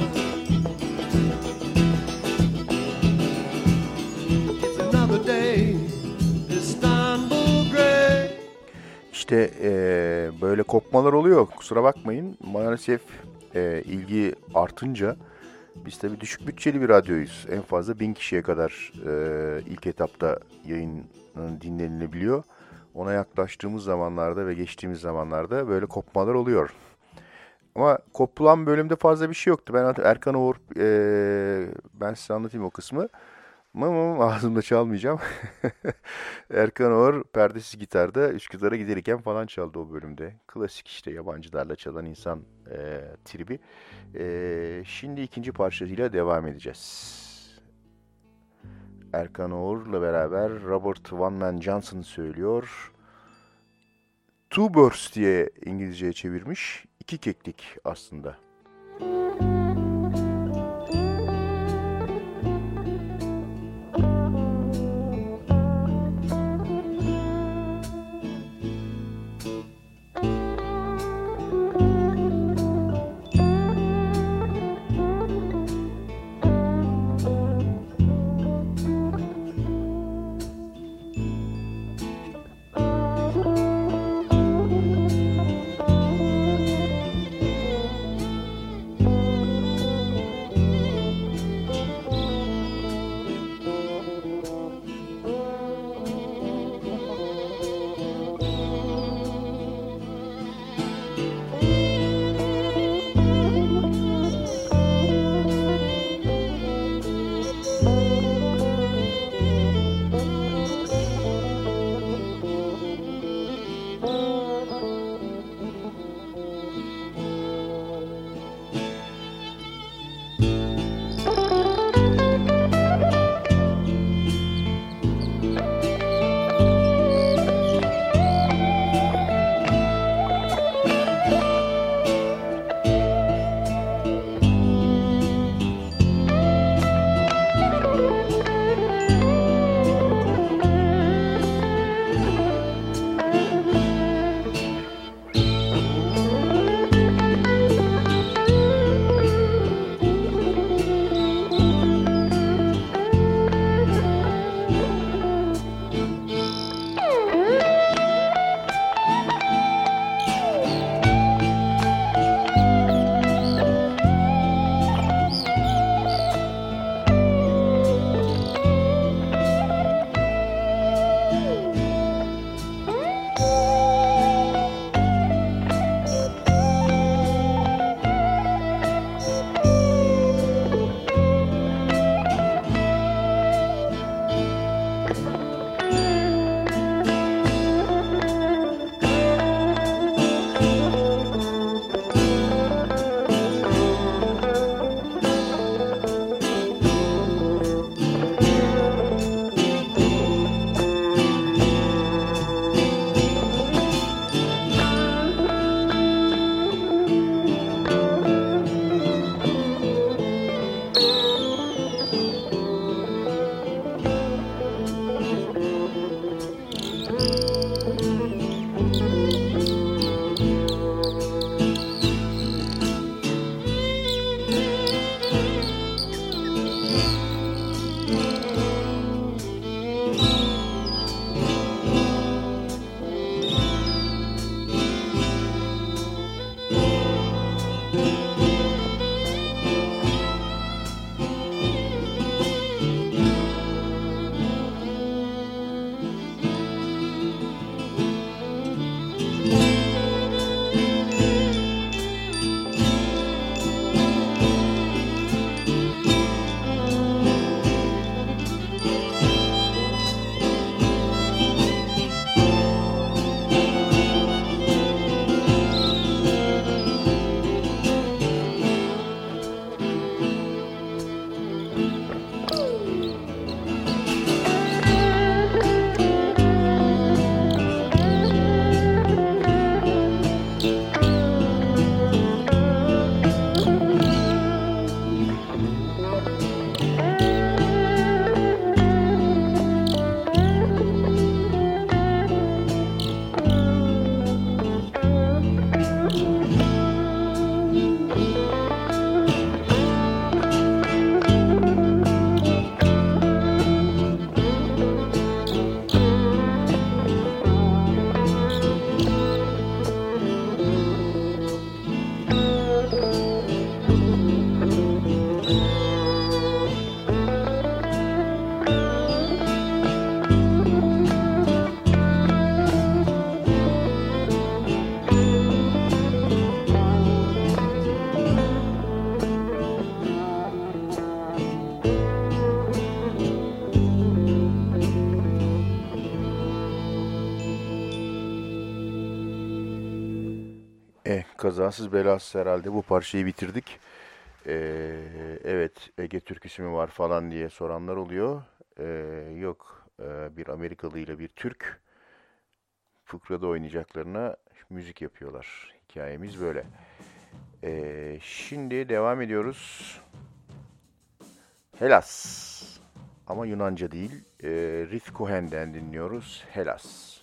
It's another day, Istanbul Grey. İşte böyle kopmalar oluyor. Kusura bakmayın. Maalesef ilgi artınca biz tabii düşük bütçeli bir radyoyuz. En fazla 1000 kişiye kadar ilk etapta yayın dinlenilebiliyor. Ona yaklaştığımız zamanlarda ve geçtiğimiz zamanlarda böyle kopmalar oluyor. Ama kopulan bölümde fazla bir şey yoktu. Ben Erkan Oğur, ben size anlatayım o kısmı. Ağzımda çalmayacağım. Erkan Oğur perdesiz gitarda Üsküdar'a giderken falan çaldı o bölümde. Klasik işte yabancılarla çalan insan tribi. Şimdi ikinci parçasıyla devam edeceğiz. Erkan Oğur'la beraber Robert One Man Johnson söylüyor. Two Birds diye İngilizceye çevirmiş. İki keklik aslında. Kazasız belasız herhalde bu parçayı bitirdik. Evet, Ege türküsü mü var falan diye soranlar oluyor. Yok, bir Amerikalı ile bir Türk fıkrada oynayacaklarına müzik yapıyorlar. Hikayemiz böyle. Şimdi devam ediyoruz. Hellas. Ama Yunanca değil. Riff Cohen'den dinliyoruz. Hellas.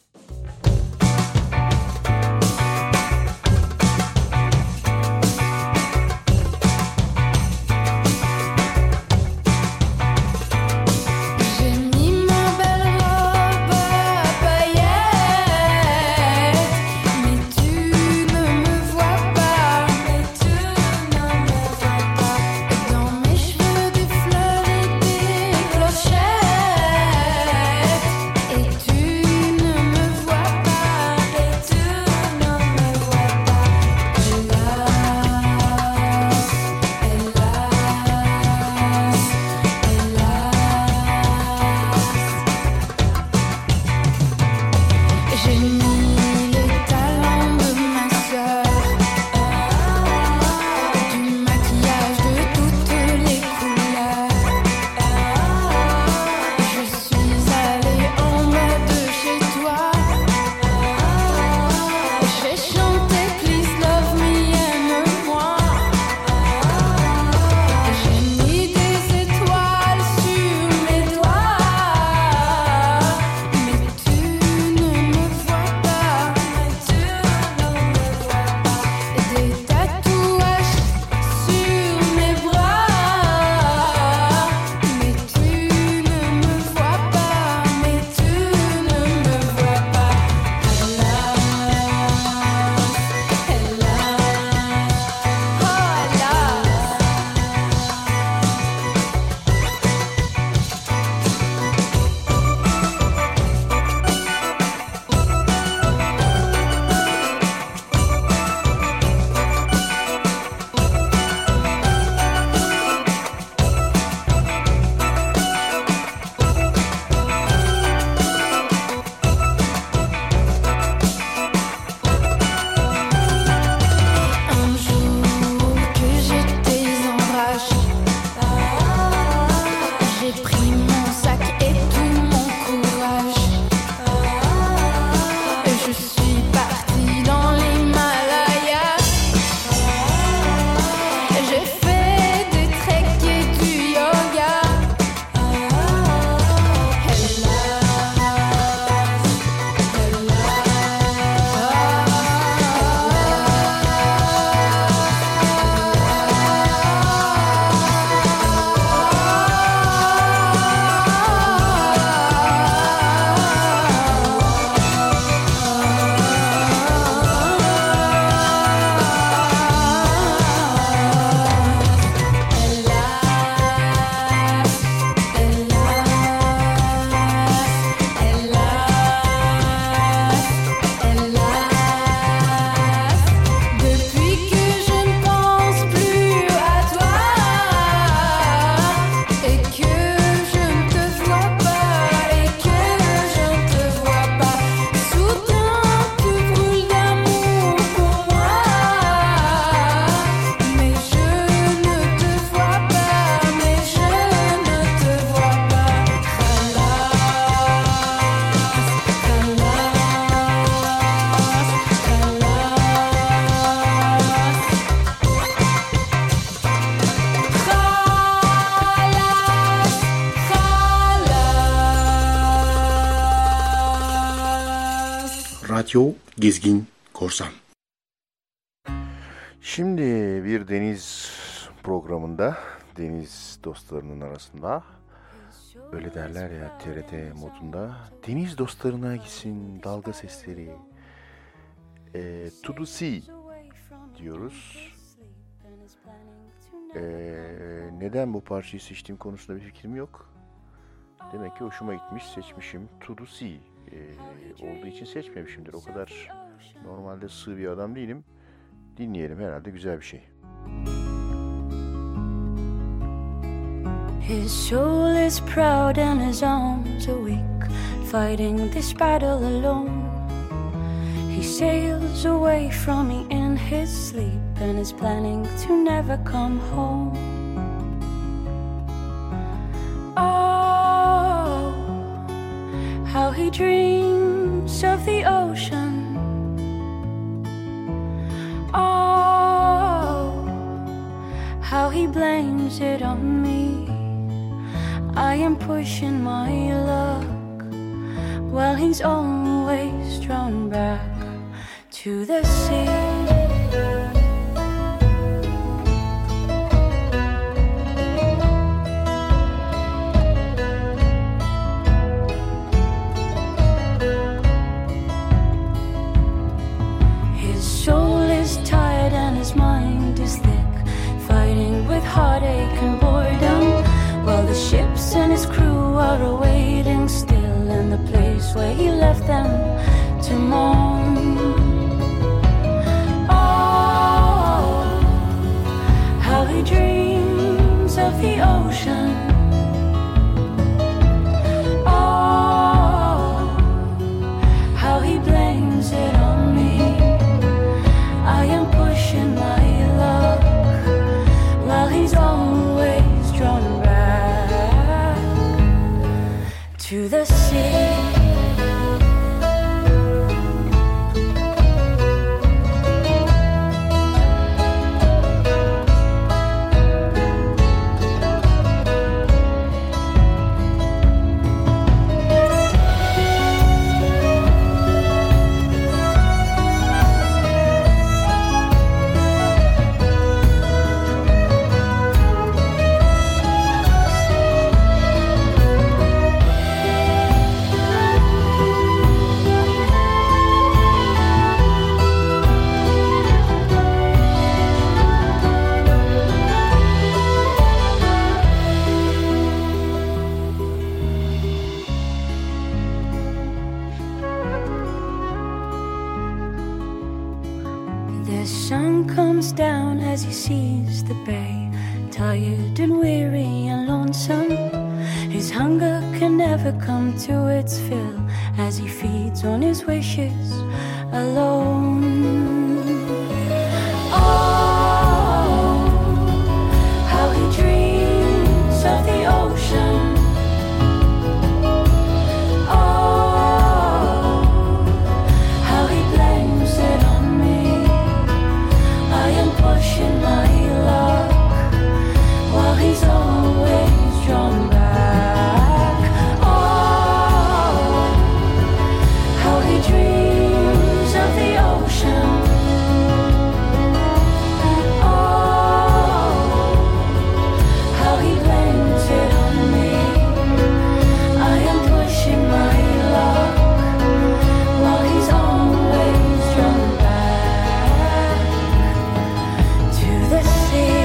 Radyo Gezgin Korsan. Şimdi bir deniz programında, deniz dostlarının arasında, öyle derler ya TRT modunda, deniz dostlarına gitsin dalga sesleri, to the sea diyoruz. Neden bu parçayı seçtiğim konusunda bir fikrim yok. Demek ki hoşuma gitmiş, seçmişim. To the sea olduğu için seçmemişimdir. O kadar normalde sığ bir adam değilim. Dinleyelim, herhalde güzel bir şey. His soul is proud and his arms are weak, fighting this battle alone. He sails away from me in his sleep and is planning to never come home. Oh, how he dreams of the ocean, how he blames it on me. I am pushing my luck while he's always drawn back to the sea. With heartache and boredom, while the ships and his crew are awaiting still in the place where he left them to mourn. Oh, how he dreams of the ocean. Oh, how he blames it on me. I am pushing my luck while he's always drawn back to the sea. Down as he sees the bay, tired and weary and lonesome. His hunger can never come to its fill as he feeds on his wishes alone. Oh, how he dreams of the ocean. Oh, how he blames it on me. I am pushing my luck while he's always drawn back. Oh, how he dreams of the ocean. Oh, how he blames it on me. I am pushing my luck while he's always drawn back to the sea.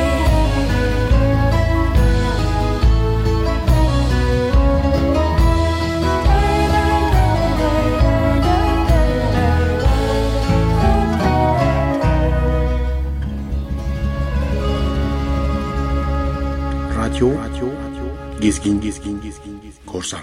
Radyo Gezgin Korsan.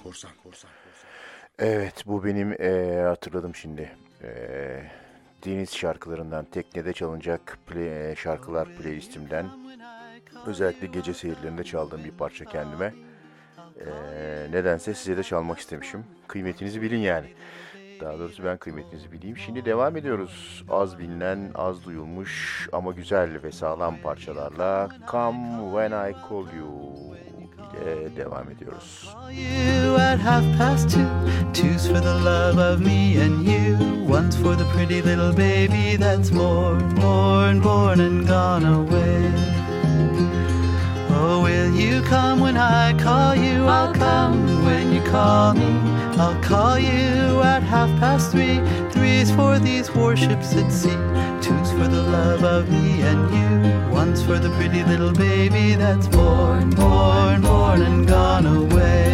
Evet, bu benim hatırladım şimdi. Deniz şarkılarından, teknede çalınacak şarkılar playlistimden, özellikle gece seyirlerinde çaldığım bir parça kendime. Nedense size de çalmak istemişim. Kıymetinizi bilin yani. Daha doğrusu ben kıymetinizi bileyim. Şimdi devam ediyoruz. Az bilinen, az duyulmuş ama güzel ve sağlam parçalarla Come When I Call You ile devam ediyoruz. You at 2:30, two's for the love of me and you, one's for the pretty little baby that's born and gone away. Oh, will you come when I call you? I'll come when you call me. I'll call you at 3:30. Three's for these warships at sea. Two's for the love of me and you. One's for the pretty little baby that's born and gone away.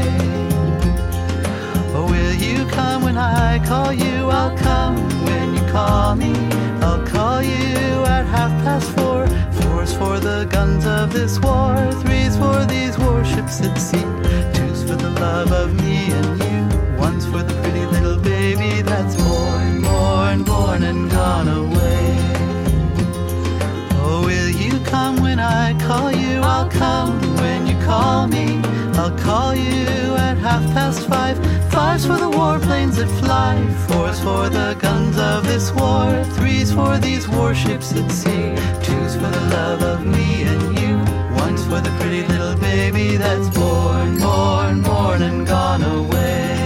Oh, will you come when I call you? I'll come when you call me. I'll call you at 4:30. Four's for the guns of this war. Three's for these warships at sea. Two's for the love of me and you. One's for the pretty little baby that's born and gone away. Oh, will you come when I call you? I'll come when you call me. I'll call you at 5:30. Five's for the warplanes that fly. Four's for the guns of this war. Three's for these warships at sea. Two's for the love of me and you. for the pretty little baby that's born, born, born and gone away.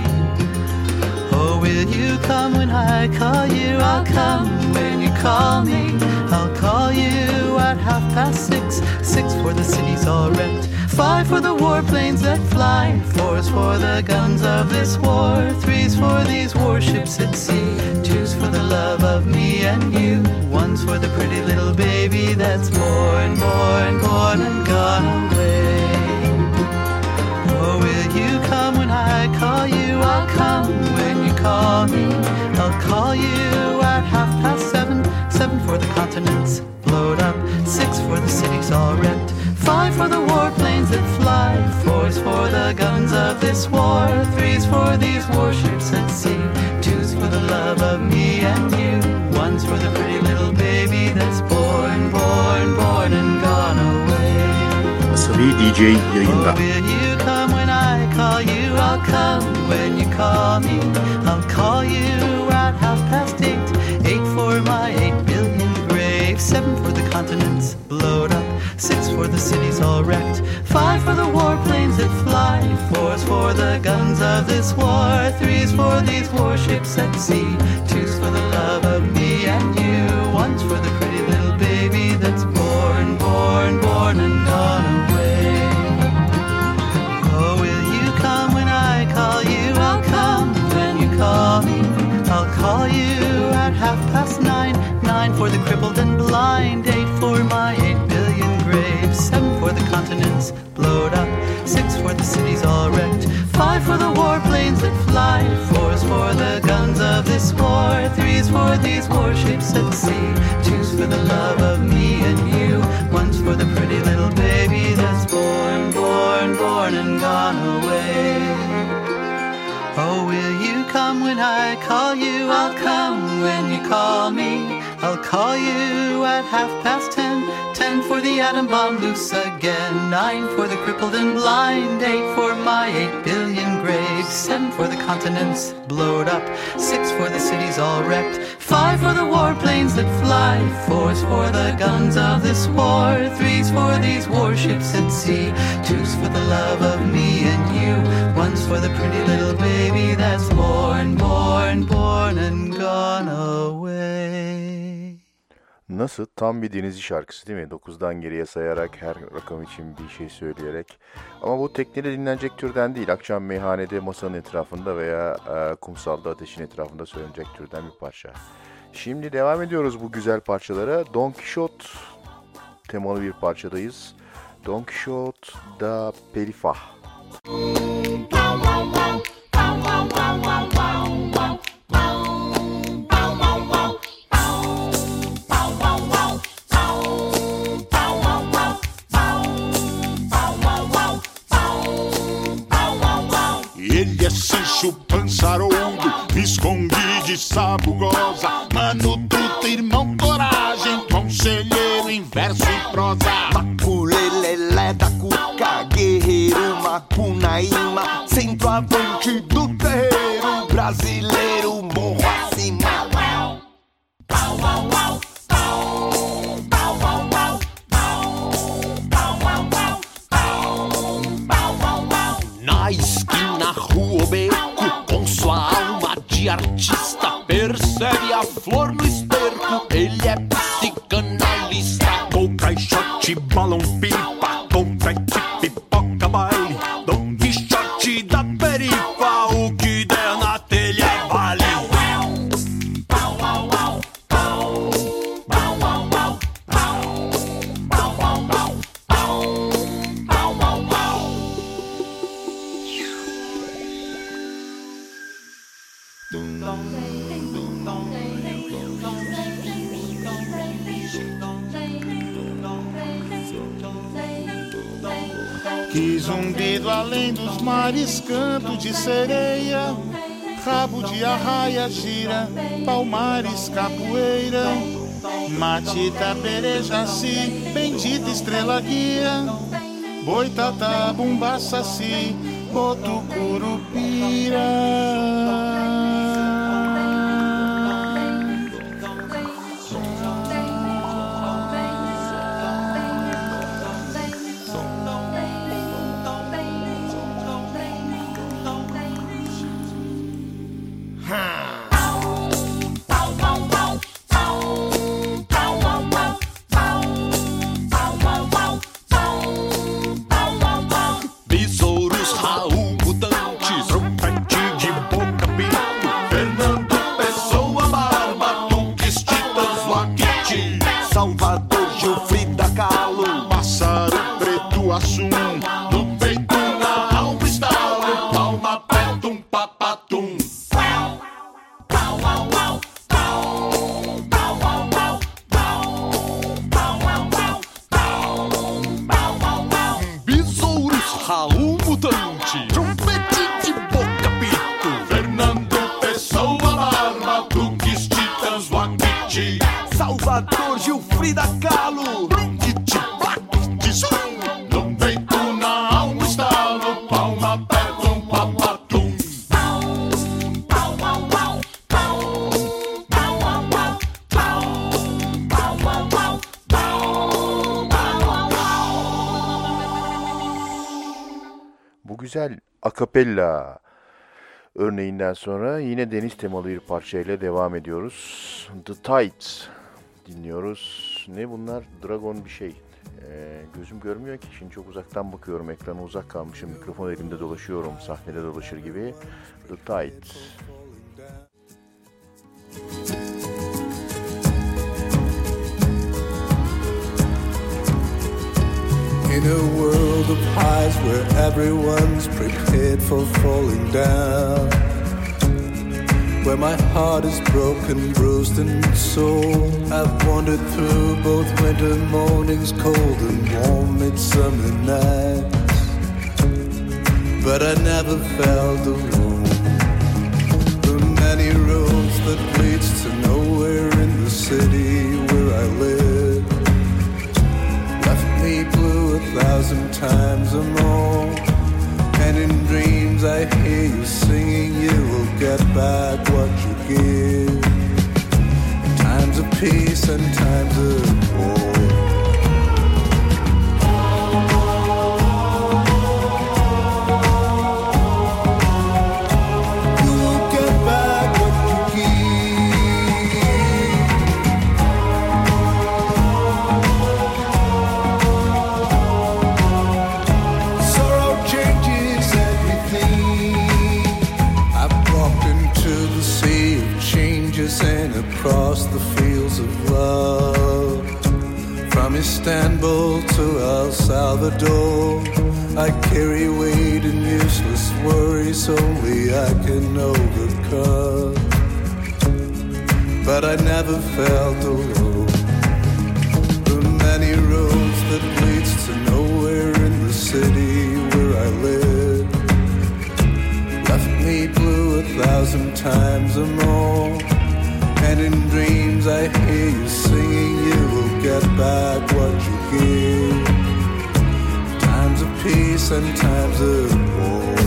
Oh, will you come when I call you? I'll come when you call me. I'll call you at 6:30. 6 for the city's all wrecked. 5 for the warplanes that fly. 4's for the guns of this war. 3's for these warships at sea. 2's for the love of me and you. 1's for the pretty little baby that's born, born, born and gone away. Oh, will you come when I call you? I'll come when you call me. I'll call you at 7:30. 7 for the continents blowed up. 6 for the cities all wrecked. 5 for the warplanes that fly. 4's for the guns of this war. 3's for these warships at sea. 2's for the love of me and you. 1's for the pretty little baby that's born, born, born and gone away. Asabi DJ yayında. Oh, will you come when I call you? I'll come when you call me. I'll call you at 8:30. 8 for my 8 billion graves. 7 for the continents blowed up. 6 for the cities all wrecked. 5 for the warplanes that fly. 4's for the guns of this war. 3's for these warships at sea. 2's for the love of me and you. 1's for the pretty little baby that's born, born, born and gone away. Oh, will you come when I call you? I'll come when you call me. I'll call you at 9:30. 9 for the crippled and blind. 8 for my 8 billion graves. 7 for the continents blowed up. 6 for the cities all wrecked. 5 for the warplanes that fly. 4's for the guns of this war. 3's for these warships at sea. 2's for the love of me and you. 1's for the pretty little baby that's born, born, born and gone away. Oh, will you come when I call you? I'll come when you call me. I'll call you at 10:30. 10 for the atom bomb loose again. 9 for the crippled and blind. 8 for my 8 billion graves. 7 for the continents blowed up. 6 for the cities all wrecked. 5 for the warplanes that fly. 4's for the guns of this war. 3's for these warships at sea. 2's for the love of me and you. 1's for the pretty little baby that's born, born, born and gone away. Nasıl? Tam bir Denizli şarkısı değil mi? 9'dan geriye sayarak her rakam için bir şey söyleyerek. Ama bu teknede dinlenecek türden değil. Akşam meyhanede masanın etrafında veya kumsalda ateşin etrafında söylenecek türden bir parça. Şimdi devam ediyoruz bu güzel parçalara. Don Quixote temalı bir parçadayız. Don Quixote da Perifah. Ele é Sancho Pançaroudo, me escondi de sabugosa. Mano Truta, irmão Coragem, conselheiro em verso e prosa. Maculelelé da Cuca, guerreiro Macunaíma, centroavante do terreiro brasileiro, morro acima. Na esquina, rua ou beco, com sua alma de artista, percebe a flor no esterco, ele é psicanalista. Com caixote, balão, pipa, confete, pipoca, baile, Dom Quixote da perifa, o que der na telha vale. Que zumbido além dos mares, canto de sereia, rabo de arraia, gira, palmares, capoeira, matita, berejaci, bendita estrela guia, boitatá, bumba, saci, boto, curupira. assum. No peito, na alma, estalo, palma, petum, papatum. Besouros, Raul Mutante, trompete de boca pito, Fernando Pessoa, Barba, Duques, Titãs, Wackiti, Salvador, Gilfrida Kahlo, Titi, Black, Zoom. No peito, na alma, estalo, palma, petum, papatum. Bu güzel akapella örneğinden sonra yine deniz temalı bir parçayla devam ediyoruz. The Tides dinliyoruz. Ne bunlar? Dragon bir şey. Gözüm görmüyor ki. Şimdi çok uzaktan bakıyorum. Ekrana uzak kalmışım. Mikrofon elimde dolaşıyorum. Sahnede dolaşır gibi. The Tides. In a world of highs where everyone's prepared for falling down, where my heart is broken, bruised and sore, I've wandered through both winter mornings, cold and warm midsummer nights, but I never felt alone. The many roads that leads to nowhere in the city where I live left me blue 1,000 times or more. And in dreams I hear you singing, you will get back what you give. In times of peace and times of war. And across the fields of love, from Istanbul to El Salvador, I carry weight and useless worries only I can overcome. But I never felt alone. The many roads that leads to nowhere in the city where I live left me blue 1,000 times or more. And in dreams I hear you singing, you will get back what you give. Times of peace and times of war.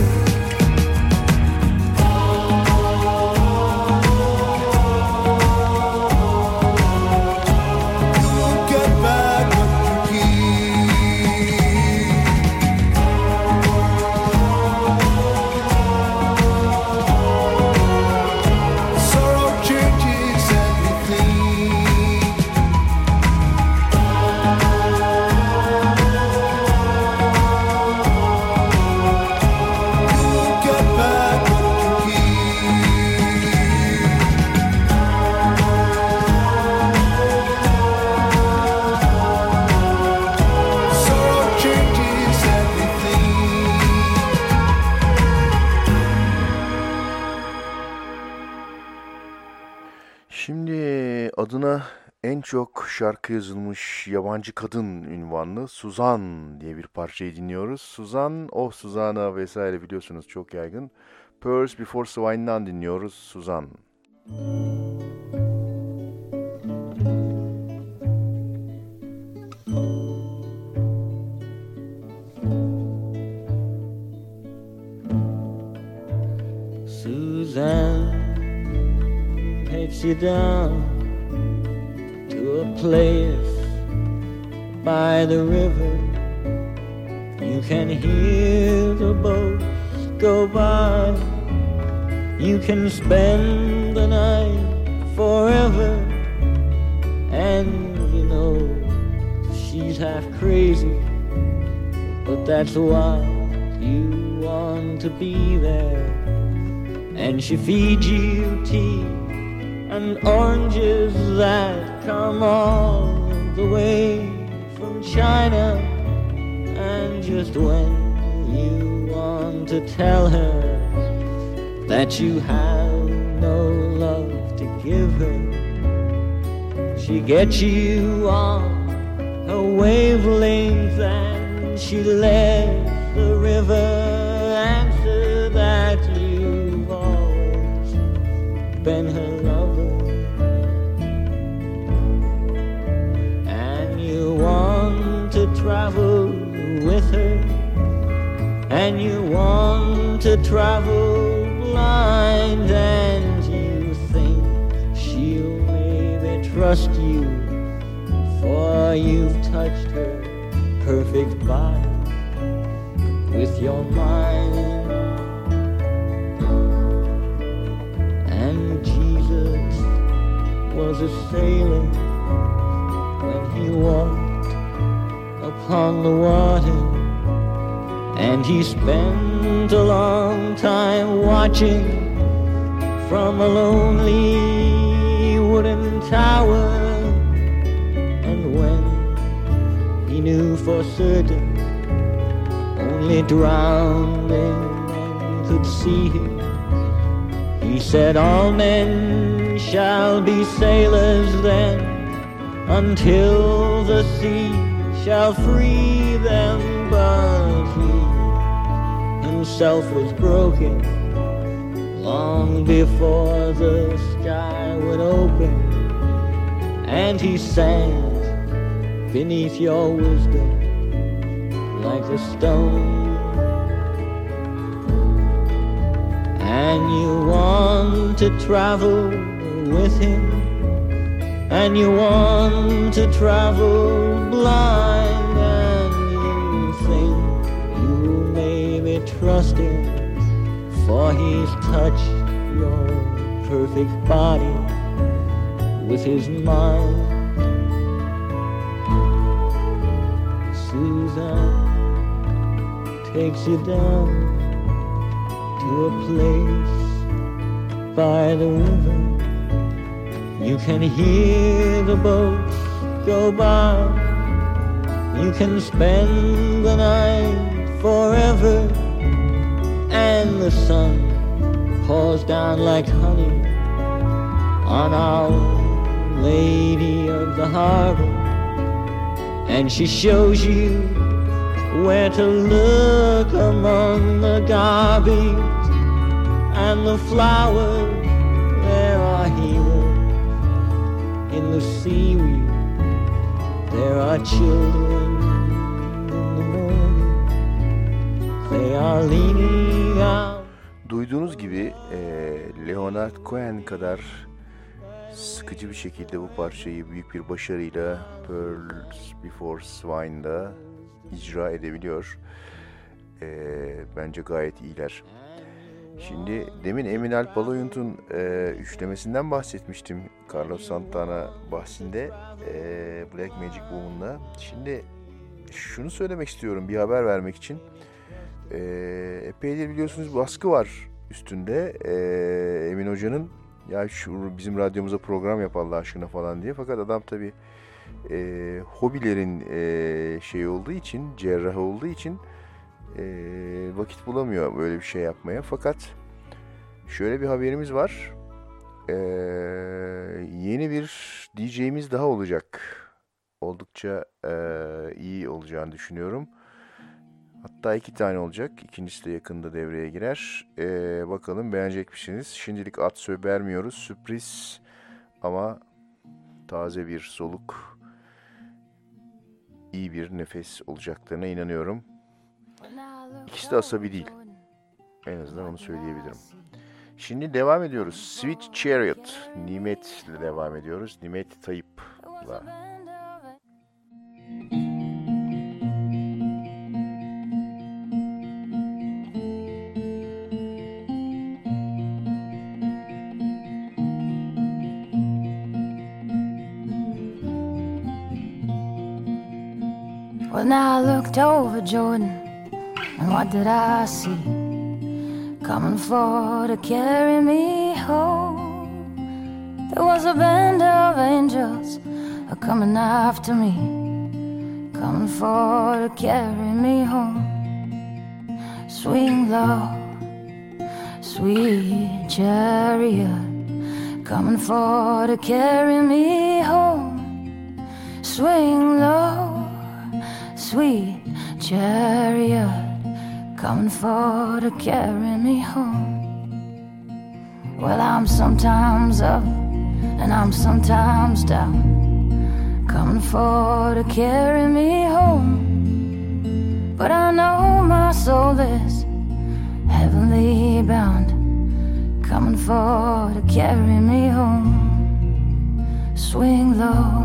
Adına en çok şarkı yazılmış yabancı kadın ünvanlı Suzan diye bir parçayı dinliyoruz. Suzan, oh Suzan'a vesaire biliyorsunuz çok yaygın. Pearls Before Swine'dan dinliyoruz Suzan. Suzanne takes you down to a place by the river. You can hear the boats go by. You can spend the night forever. And you know she's half crazy, but that's why you want to be there. And she feeds you tea and oranges that come all the way from China. And And just when you want to tell her that you have no love to give her, she gets you on her wavelength and she lets the river answer that you've always been her lover. And you want to travel with her, and you want to travel blind, and you think she'll maybe trust you, for you've touched her perfect body with your mind. And Jesus was a sailor when he walked upon the water, and he spent a long time watching from a lonely wooden tower. And when he knew for certain only drowning men could see him, he said, all men shall be sailors then, until the sea shall free them. But he himself was broken long before the sky would open, and he sank beneath your wisdom like a stone. And you want to travel with him, and you want to travel blind, and you think you maybe trust him, for he's touched your perfect body with his mind. Suzanne takes you down to a place by the river. You can hear the boats go by. You can spend the night forever, and the sun pours down like honey on Our Lady of the Harbor, and she shows you where to look among the garbage and the flowers. There are heroes in the seaweed, there are children in the morning, they are leaning out. Duyduğunuz gibi Leonard Cohen kadar sıkıcı bir şekilde bu parçayı büyük bir başarıyla Pearls Before Swine'da icra edebiliyor. Bence gayet iyiler. Şimdi demin Emin Alp Aloyunt'un üçlemesinden bahsetmiştim Carlos Santana bahsinde Black Magic Woman'la. Şimdi şunu söylemek istiyorum bir haber vermek için. Epeydir biliyorsunuz baskı var üstünde Emin Hoca'nın. Ya şu bizim radyomuza program yap Allah aşkına falan diye. Fakat adam tabii hobilerin şey olduğu için, cerrah olduğu için vakit bulamıyor böyle bir şey yapmaya. Fakat şöyle bir haberimiz var. Yeni bir DJ'miz daha olacak. Oldukça iyi olacağını düşünüyorum. Hatta 2 tane olacak. İkincisi de yakında devreye girer. Bakalım beğenecek misiniz? Şimdilik ad söz vermiyoruz. Sürpriz ama taze bir soluk, iyi bir nefes olacaklarına inanıyorum. İkisi de asabi değil. En azından onu söyleyebilirim. Şimdi devam ediyoruz. Sweet Chariot. Nimet ile devam ediyoruz. Nimet Tayyip'la. Well, now I looked over Jordan, and what did I see? Coming for to carry me home. There was a band of angels coming after me, coming for to carry me home. Swing low, sweet chariot, coming for to carry me home. Swing low, sweet chariot, coming for to carry me home. Well, I'm sometimes up and I'm sometimes down, coming for to carry me home. But I know my soul is heavenly bound, coming for to carry me home. Swing low,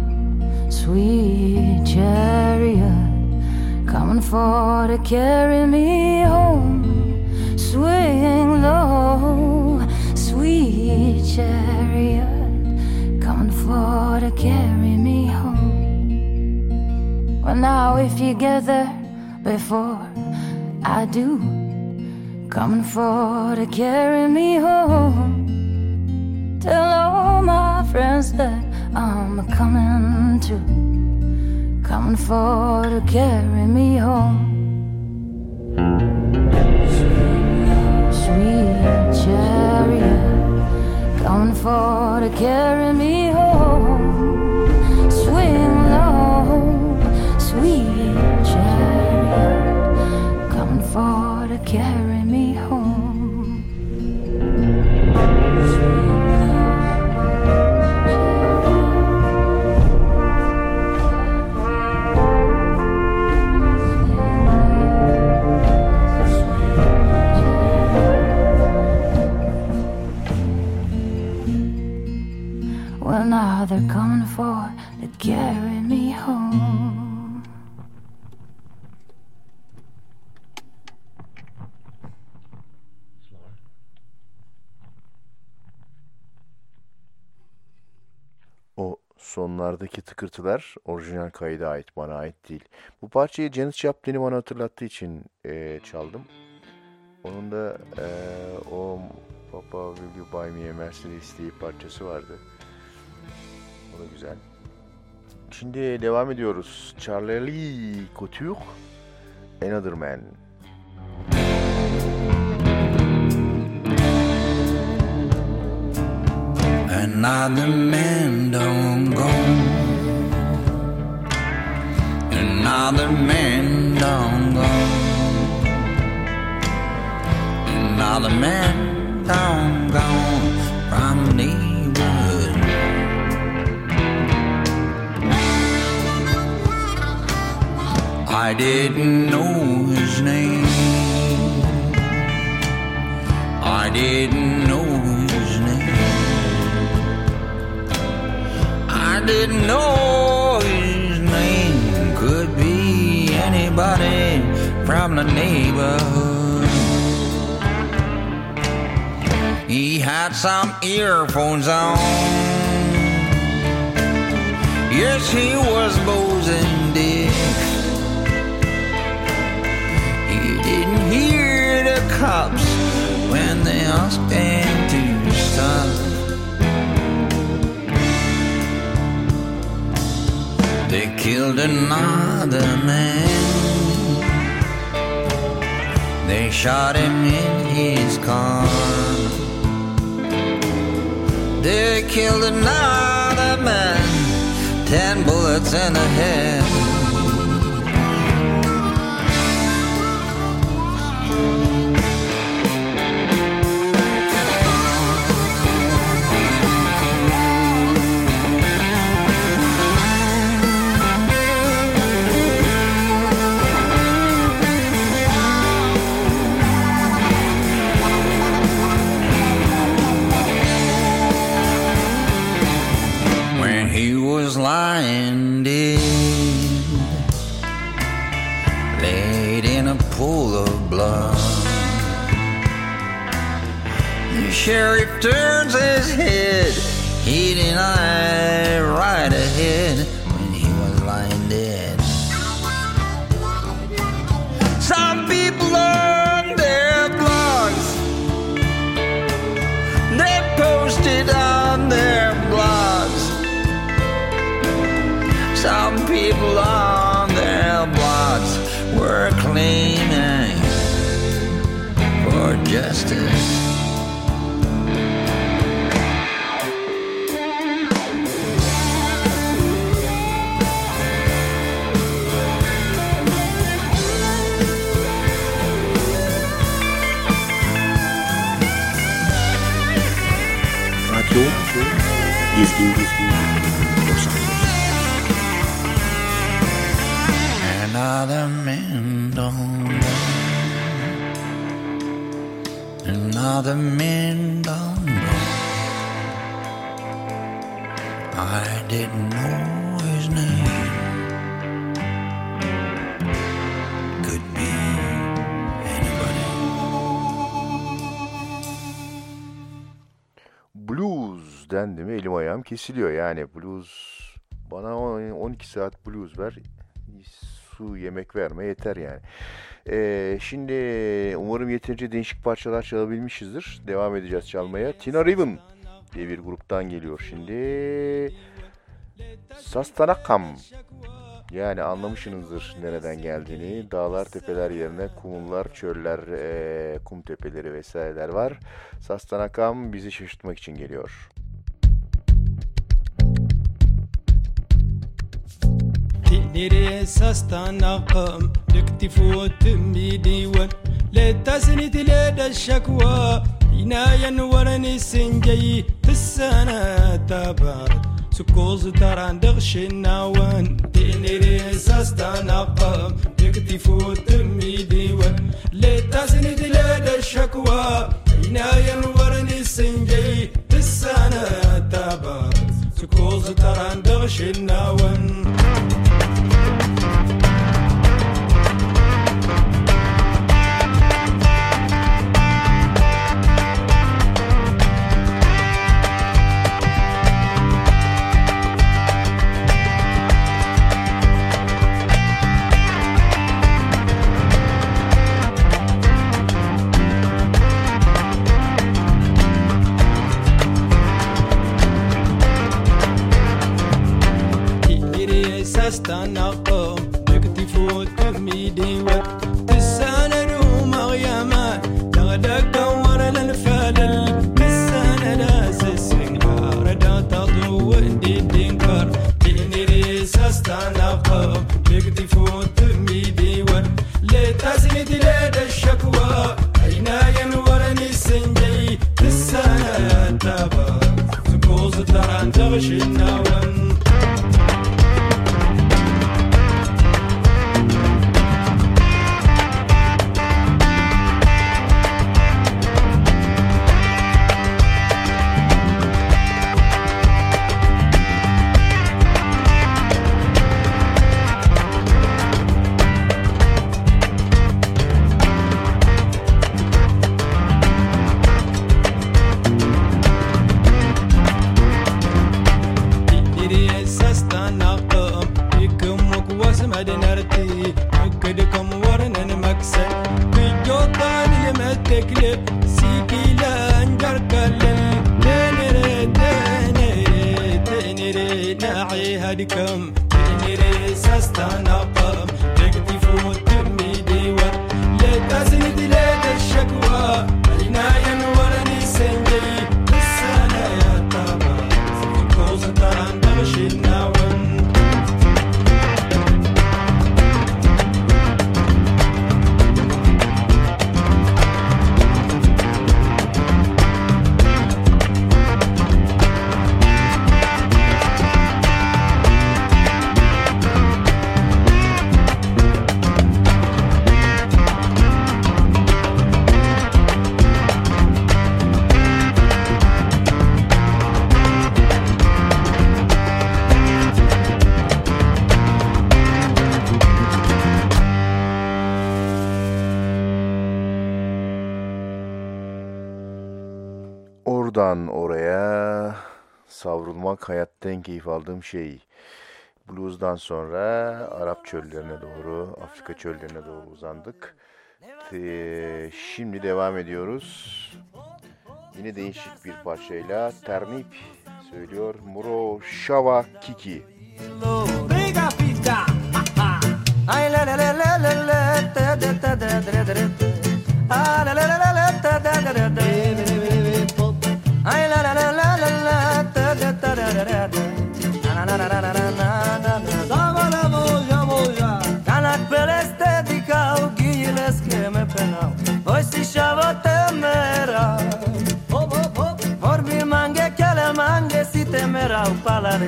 sweet chariot, coming for to carry me home. Swing low, sweet chariot, coming for to carry me home. Well, now if you get there before I do, coming for to carry me home. Tell all my friends that I'm coming too, coming for to carry me home. Sweet chariot, coming for to carry me home. Swing low, sweet chariot, coming for to carry me home. Well, now they're coming for to carry me home. O sonlardaki tıkırtılar orijinal kayda ait, bana ait değil. Bu parçayı Janis Joplin'i bana hatırlattığı için çaldım. Onun da o Papa Will You Buy Me a Mercedes diye parçası vardı. O da güzel. Şimdi devam ediyoruz. Charlie Couture, Another Man. Another man done gone. Another man done gone. Another man done gone from the neighborhood. I didn't know his name. I didn't know his name. I didn't know his name. Could be anybody from the neighborhood. He had some earphones on. Yes, he was boozing deaf. He didn't hear the cops when they asked him to stop. They killed another man. They shot him in his car. They killed another man, 10 bullets in the head. Lying dead, laid in a pool of blood. The sheriff turns his head, he denied right ahead when he was lying dead. Some people on their blogs, they posted on their blogs. Some people on claiming for justice. Radio Gezgin Los Angeles. Another man don't know. Another man don't know. I didn't know his name. Could be anybody. Blues dendi mi elim ayağım kesiliyor. Yani blues, bana 12 saat blues ver, su yemek verme yeter yani. Şimdi umarım yeterince değişik parçalar çalabilmişizdir. Devam edeceğiz çalmaya. Tina Raven diye bir gruptan geliyor şimdi. Sastanakam. Yani anlamışsınızdır nereden geldiğini. Dağlar, tepeler yerine kumlar, çöller, kum tepeleri vesaireler var. Sastanakam bizi şaşırtmak için geliyor. تقدري ساستنقم لكتفو تمي ديوان لا تسند لدى الشكوى عنايا ورني سنجي تسانا تبارد سكوز تران دغش النوان تقدري ساستنقم لكتفو تمي ديوان لا تسند لدى الشكوى عنايا ورني سنجي تسانا تبارد سكوز تران دغش النوان استنقم نكتفو تميدي وتسانا روم غيامان تغدق دور للفلل تسانا ناس السنغار دا تضو اندي دينكر تنيري استنقم نكتفو تميدي لتزيد لدى الشكوى عينايا ورني سنجي تسانا تبا سكوز تران تغشي النوان هدكم تنيري ساستنقم تكتفو تميدي لا تزيد لدى الشكوى عنايا ورني سنجي السنة يا طبع كوز تران دغشي النوم Oradan oraya savrulmak hayatta en keyif aldığım şey. Blues'dan sonra Arap çöllerine doğru, Afrika çöllerine doğru uzandık. Şimdi devam ediyoruz. Yine değişik bir parçayla Ternip söylüyor Muro Shava Kiki. Ay la la la la la la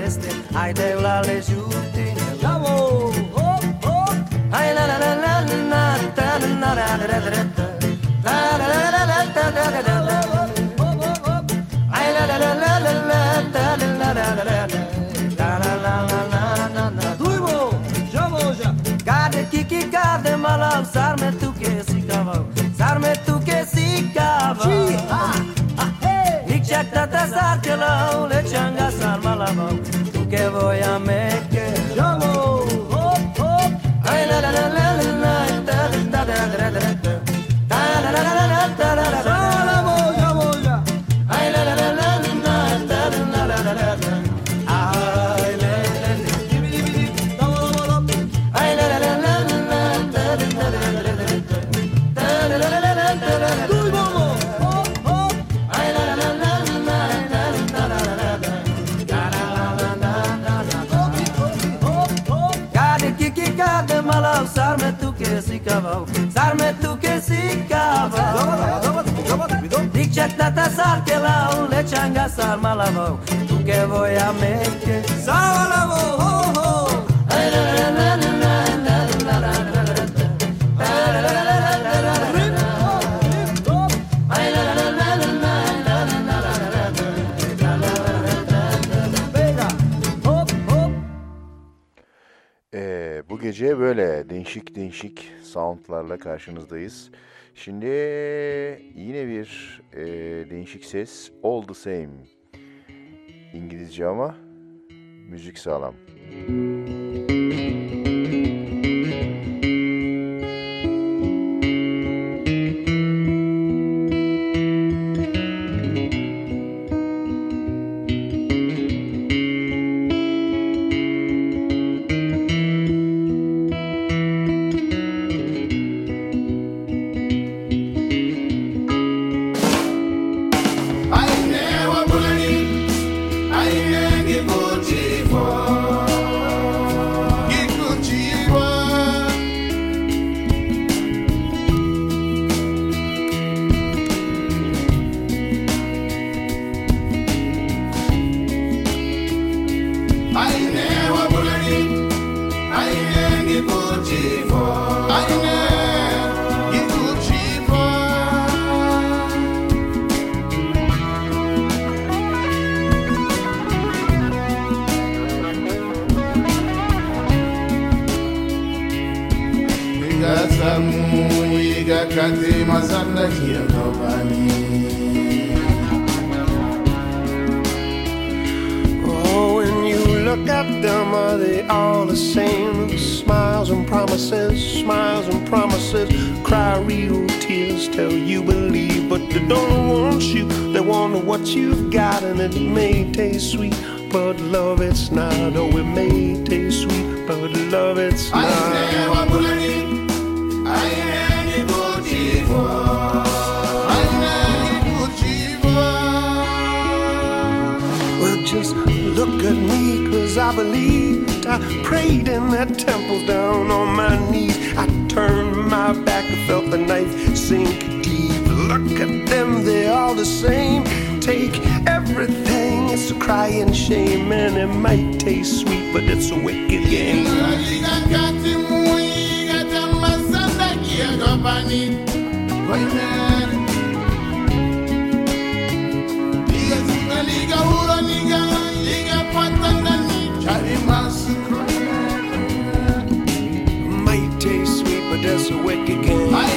celeste, ai de la le giuti. Bravo! Oh, oh! Ai la la la la la ta la la la la la la la la la ta la la la la. Ai la la la la la ta la la la la la la la la la. Duivo, Javoja. Cade que cade malal, sarme tu que si cavalo, sarme tu que si cavalo. Jack tata sarkelo le changa sarmalamo tu que voy a make jamo hop hop ay la la la la la da da da da da da la la la la da la la jamo ya ay la la la la la da la la la la ay la la ay la la la la da da da da da tu bomo hop hop ay la la la Cade malal, sarme tu que si cavalo, sarme tu que si cavalo. Dic jack tata sar que la le changa sar malavo, tu que voy a make salavo ho ho. Ay la la la la la la la la. Bu gece böyle değişik soundlarla karşınızdayız. Şimdi yine bir değişik ses, All the Same. İngilizce ama müzik sağlam. Oh, when you look at them, are they all the same? Smiles and promises, cry real tears, tell you believe, but they don't want you. They want what you've got, and it may taste sweet, but love it's not. Oh, it may taste sweet, but love it's not. Well, just look at me, 'cause I believed. I prayed in that temple down on my knees. I turned my back, I felt the knife sink deep. Look at them, they're all the same. Take everything, it's a crying shame. And it might taste sweet, but it's a wicked game. Might taste sweet, but that's a wicked game. I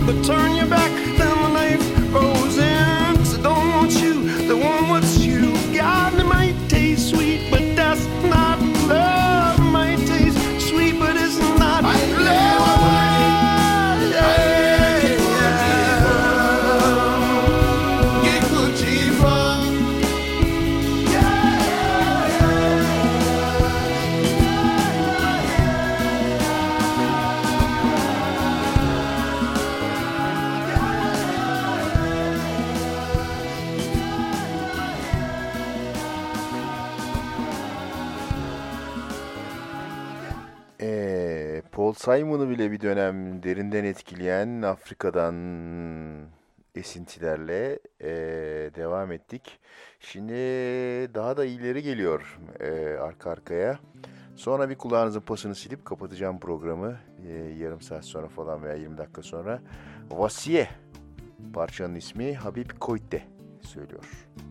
but turn your back, then the knife goes in. 'Cause I don't want you, the one what's you got. It might taste sweet, but that's not love. It might taste sweet, but it's not love. Paul Simon'u bile bir dönem derinden etkileyen Afrika'dan esintilerle devam ettik. Şimdi daha da iyileri geliyor arka arkaya. Sonra bir kulağınızın pasını silip kapatacağım programı. Yarım saat sonra falan veya 20 dakika sonra. Vasiye parçanın ismi, Habib Koité söylüyor.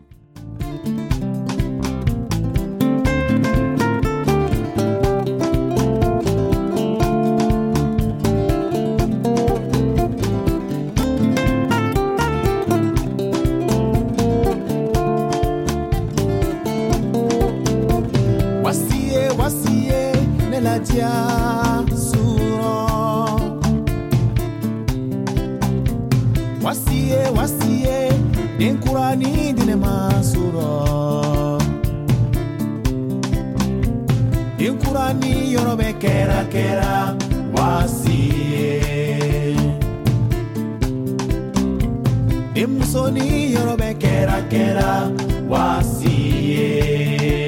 Wasiye den Qur'ani dine masuro den Qur'ani yorobe kera wasiye den musoni yorobe kera wasiye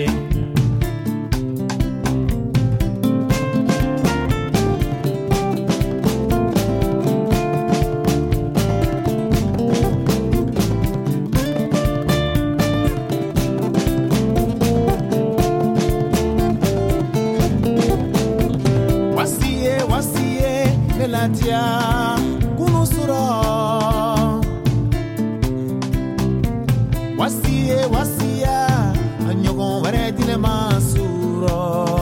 Latia kunusura wasiya anyogon ware dile masuro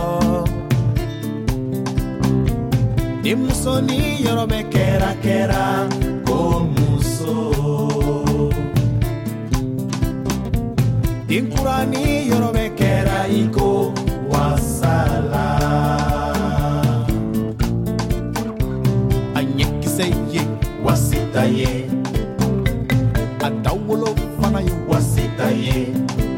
imusoni yorobe kera komuso inkurani yorobe kera iko wasala wasitaye adawolo fanaye wasitaye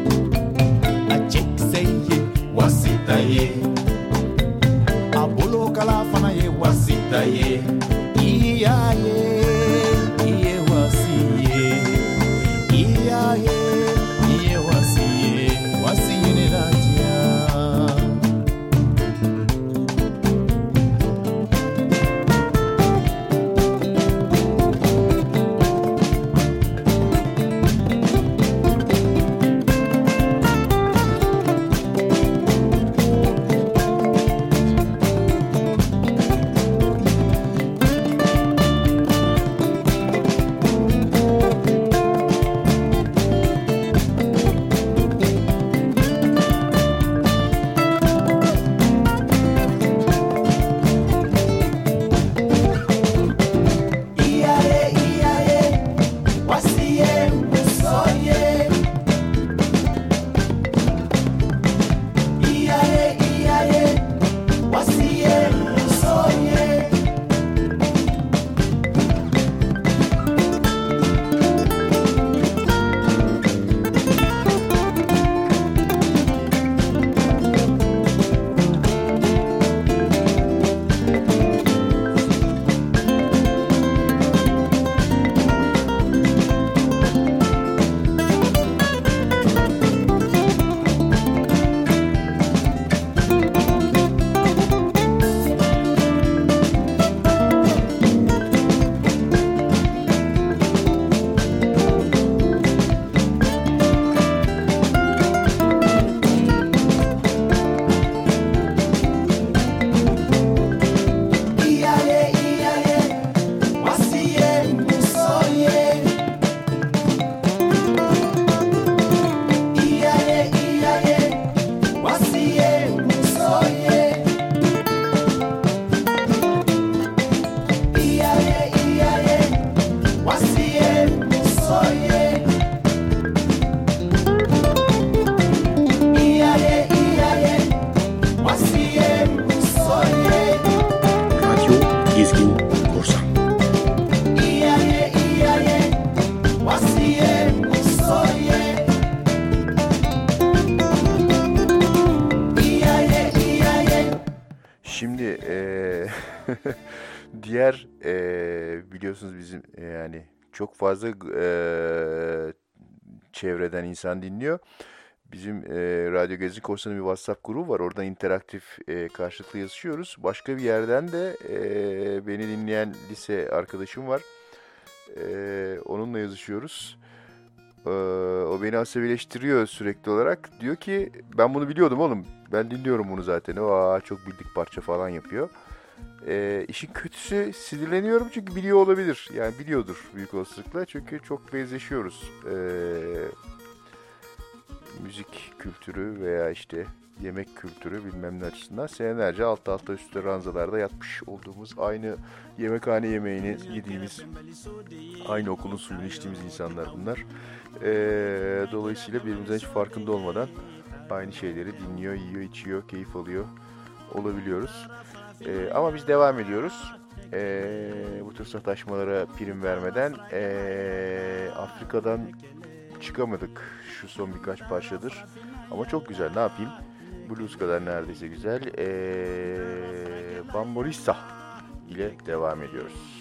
achekiseye wasitaye abolo kala fanaye wasitaye iyaye iye wasiye iyaye iye wasiye ne latia. Şimdi diğer biliyorsunuz bizim yani çok fazla çevreden insan dinliyor. Bizim Radyo Gezi Korsanı bir WhatsApp grubu var. Oradan interaktif karşılıklı yazışıyoruz. Başka bir yerden de beni dinleyen lise arkadaşım var. Onunla yazışıyoruz. O beni asabileştiriyor sürekli olarak. Diyor ki ben bunu biliyordum oğlum. Ben dinliyorum bunu zaten. Çok bildik parça falan yapıyor. İşin kötüsü sinirleniyorum çünkü biliyor olabilir. Yani biliyordur büyük olasılıkla. Çünkü çok benzeşiyoruz. Müzik kültürü veya işte yemek kültürü bilmem ne açısından senelerce alt alta üstte ranzalarda yatmış olduğumuz, aynı yemekhane yemeğini yediğimiz, aynı okulun suyunu içtiğimiz insanlar bunlar. Dolayısıyla birbirimizden hiç farkında olmadan aynı şeyleri dinliyor, yiyor, içiyor, keyif alıyor olabiliyoruz. Ama biz devam ediyoruz. Bu tür sataşmalara prim vermeden Afrika'dan çıkamadık şu son birkaç parçadır. Ama çok güzel, ne yapayım? Blues kadar neredeyse güzel. Bamborissa ile devam ediyoruz.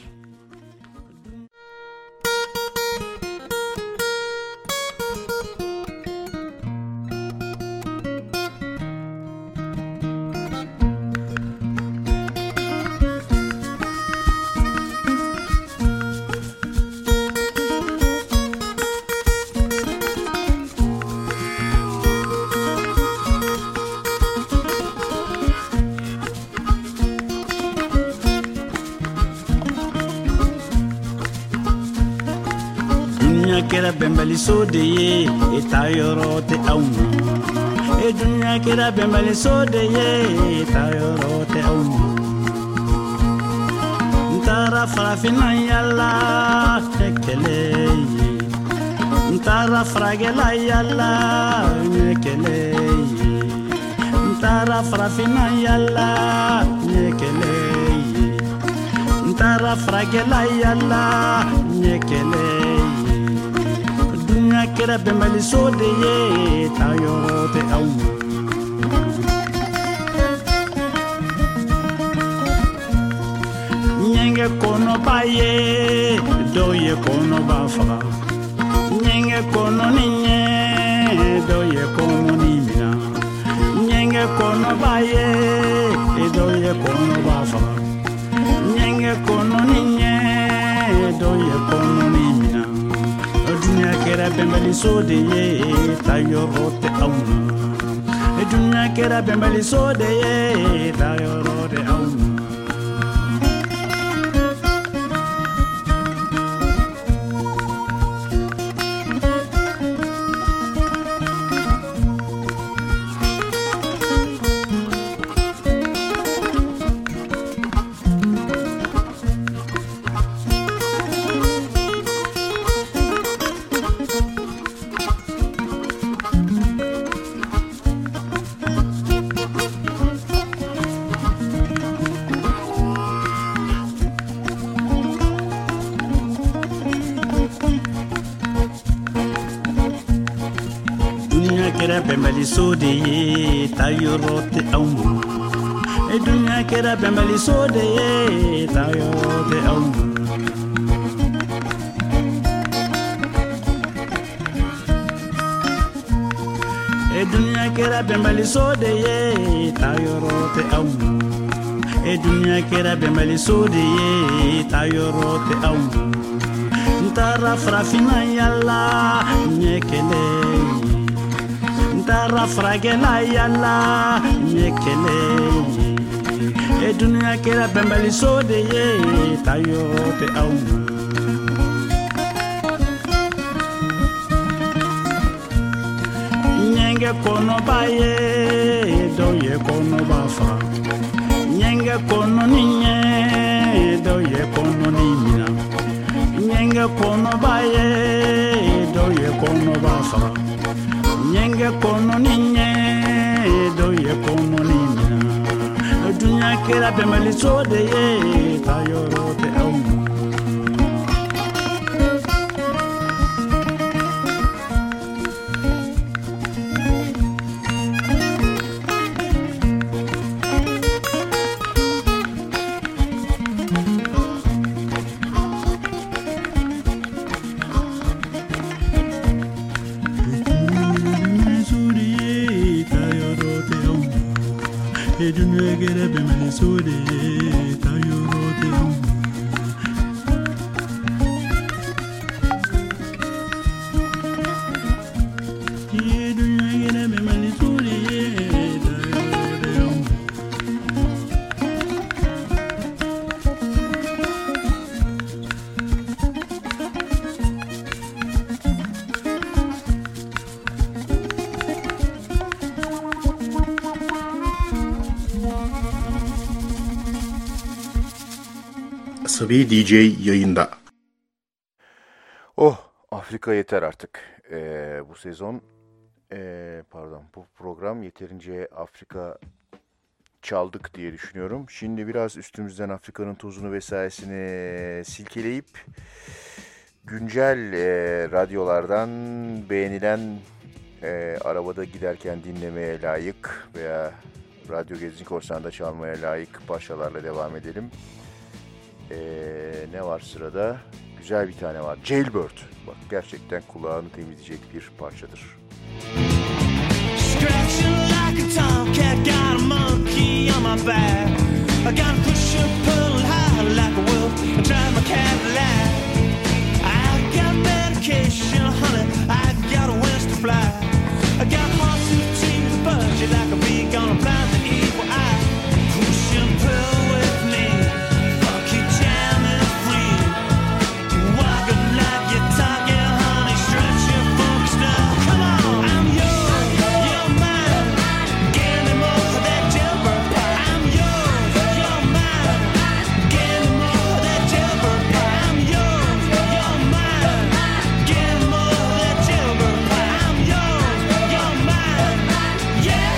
Kera bembali sode ye etayoro te auma e dunya kera bembali sode ye etayoro te auma ntara farafina yalla tekele ntara fragela yalla nekele ntara farafina yalla nekele ntara fragela yalla nekele kera bembali sode ye tayoro te auma nyenge kono baye doye kono bafa nyenge kono ninye doye kono nimina nyenge kono baye doye kono bafa nyenge kono ninye doye kono nimina dunya kera bembali sode ye tayoro te auma dunya kera bembali sode ye tayoro te auma bembali sode ye tayoro te auma e dunya kera bembali sode ye tayoro te auma e dunya kera bembali sode ye tayoro te auma e dunya kera bembali sode ye tayoro te auma ntara frafina yalla nyekele ntara fragela yalla nyekele e dunya kera bembali sode ye tayoro te auma nyenge kono baye doye kono bafa nyenge kono ninye doye kono nimina nyenge kono baye doye kono bafa nyenge kono ninye doye kono nimina dunya kera bembali sode ye tayoro te auma Asabi DJ yayında. Oh, Afrika yeter artık. Bu sezon, bu program yeterince Afrika çaldık diye düşünüyorum. Şimdi biraz üstümüzden Afrika'nın tozunu vesairesini silkeleyip güncel radyolardan beğenilen, arabada giderken dinlemeye layık veya Radyo Gezgin Korsan'da çalmaya layık parçalarla devam edelim. Ne var sırada? Güzel bir tane var. Jailbird. Bak, gerçekten kulağını temizleyecek bir parçadır. Scratching like a tomcat, got a monkey on my back. I got to push and pull high like a wolf and drive my Cadillac. I got medication, honey, I got wings to fly. I got hearts to change the budget like a bee gonna blind the evil eye. Push and pull with me, funky jam is free. Walking like you're talking, honey, stretch your funk stuff. Come on, I'm yours, you're mine. Give me more of that jailbird pie. I'm yours, you're mine. Give me more of that jailbird pie. I'm yours, you're mine. Give me more of that jailbird pie. I'm yours, you're mine. Yeah.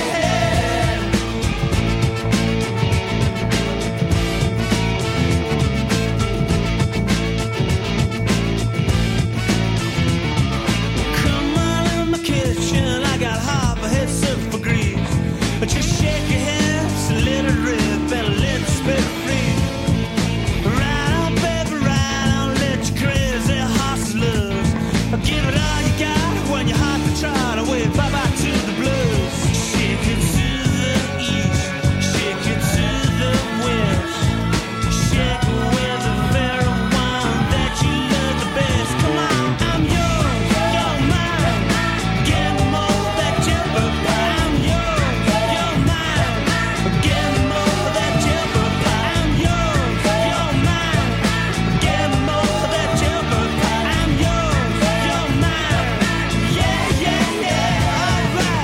Come on in my kitchen, I got hot, my head set for grease. Just shake your hips, let it rip, and let it spit free. Ride on, baby, ride on, let your crazy horses loose. Give it all you got when your heart to trot away, bye-bye to the blues. Shake it to the east, shake it to the west. Shake it with the very one that you love the best. Come on, I'm yours, you're mine. Give me more of that jailbird pie. I'm yours, you're mine. Give me more of that jailbird pie. I'm yours, you're mine. Give me more of that jailbird pie. I'm yours, you're mine. Yeah, yeah, yeah, all right.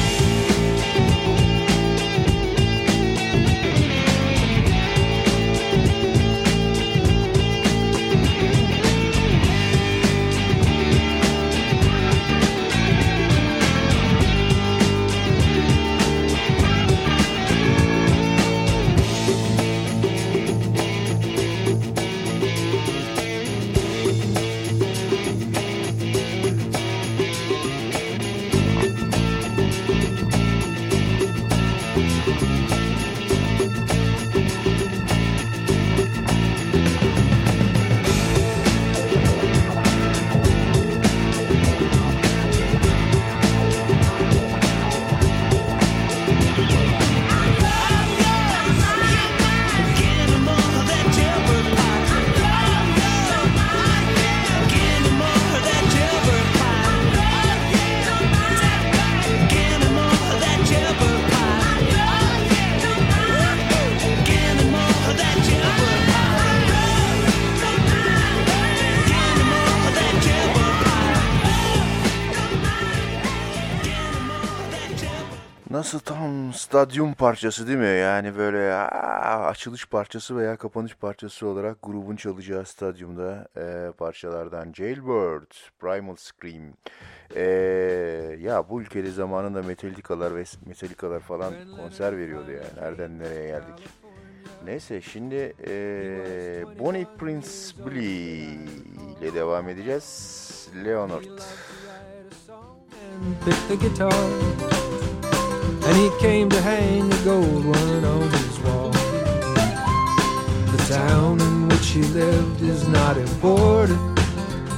Nasıl tam stadyum parçası değil mi? Yani böyle açılış parçası veya kapanış parçası olarak grubun çalacağı stadyumda parçalardan Jailbird, Primal Scream. Ya bu ülkede zamanında Metallica'lar falan konser veriyordu yani. Nereden nereye geldik? Neyse şimdi Bonnie Prince Billy ile devam edeceğiz. Leonard. Picked the guitar and he came to hang a gold one on his wall. The town in which he lived is not important,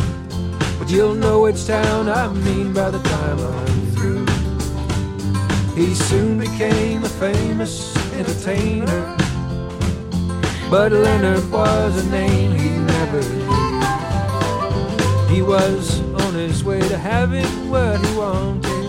but you'll know which town I mean by the time I'm through. He soon became a famous entertainer, but Leonard was a name he never knew. He was on his way to having what he wanted.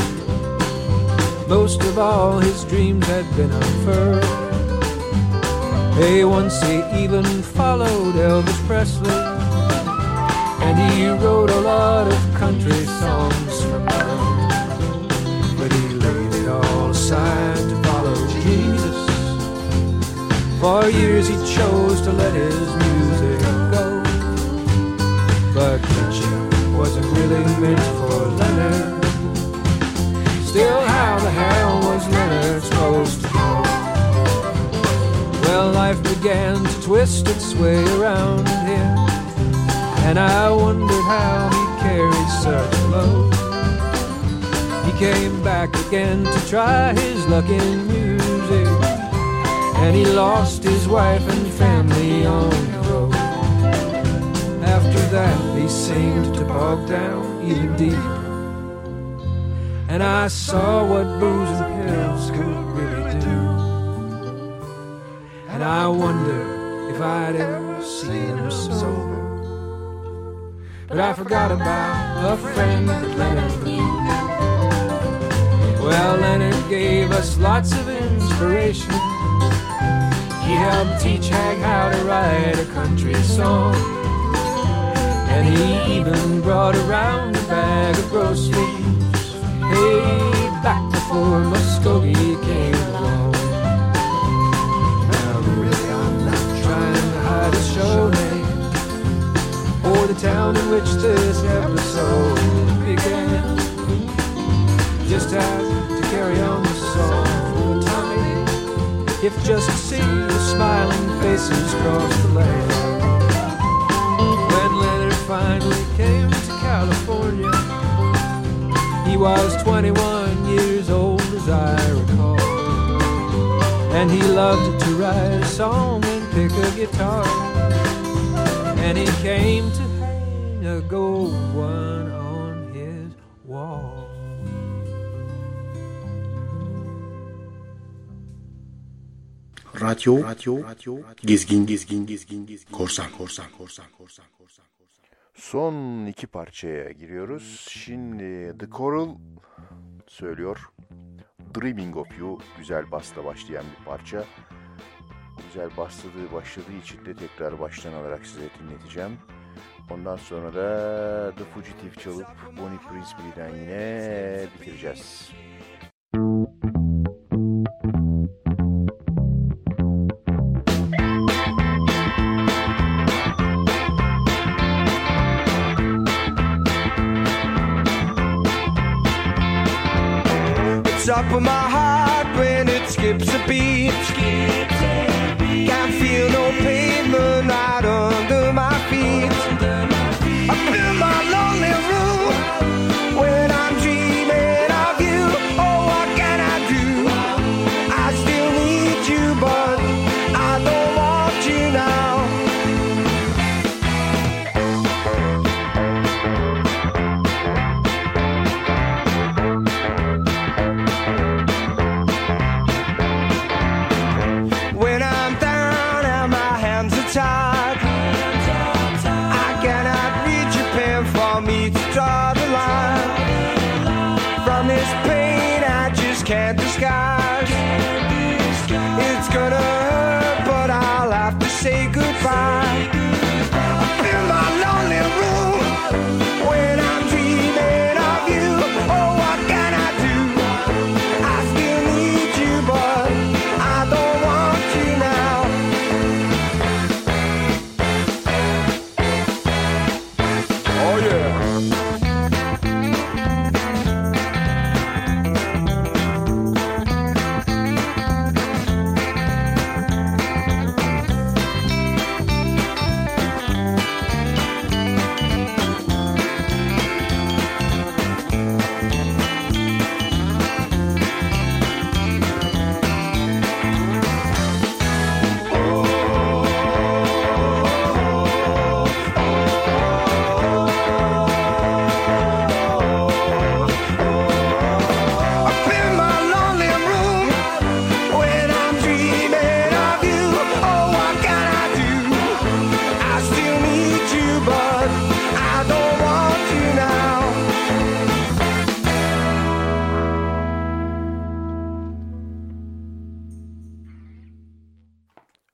Most of all his dreams had been unfurled. Hey, once he even followed Elvis Presley, and he wrote a lot of country songs for fun. But he laid it all aside to follow Jesus. For years he chose to let his music go, but preaching wasn't really meant for Leonard. Still, how the hell was Leonard supposed to go? Well, life began to twist its way around him, and I wondered how he carried such a load. He came back again to try his luck in music, and he lost his wife and family on the road. After that, he seemed to bog down even deeper, and I saw what booze and pills could really do. And I wonder if I'd ever see him sober. But I forgot about a friend that Leonard knew. Well, Leonard gave us lots of inspiration. He helped teach Hag how to write a country song, and he even brought around a bag of groceries, hey, back before Muskogee came along. Now really I'm not trying to hide a show name or the town in which this episode began. Just had to carry on the song for a time, if just to see the smiling faces cross the land. When Leonard finally came to California, he was 21 years old as I recall, and he loved to write a song and pick a guitar, and he came to hang a gold one on his wall. Radyo, gezgin, korsan. Son iki parçaya giriyoruz. Şimdi The Coral söylüyor. Dreaming of You, güzel basla başlayan bir parça. Güzel başladığı için de tekrar baştan alarak size dinleteceğim. Ondan sonra da The Fugitive çalıp Bonnie Prince Billy'den yine bitireceğiz. Top of my heart when it skips a beat. Can't feel no pavement right under my feet. I feel my lonely room when I'm dreaming of you. Oh, what can I do? I still need you, but I don't want you now.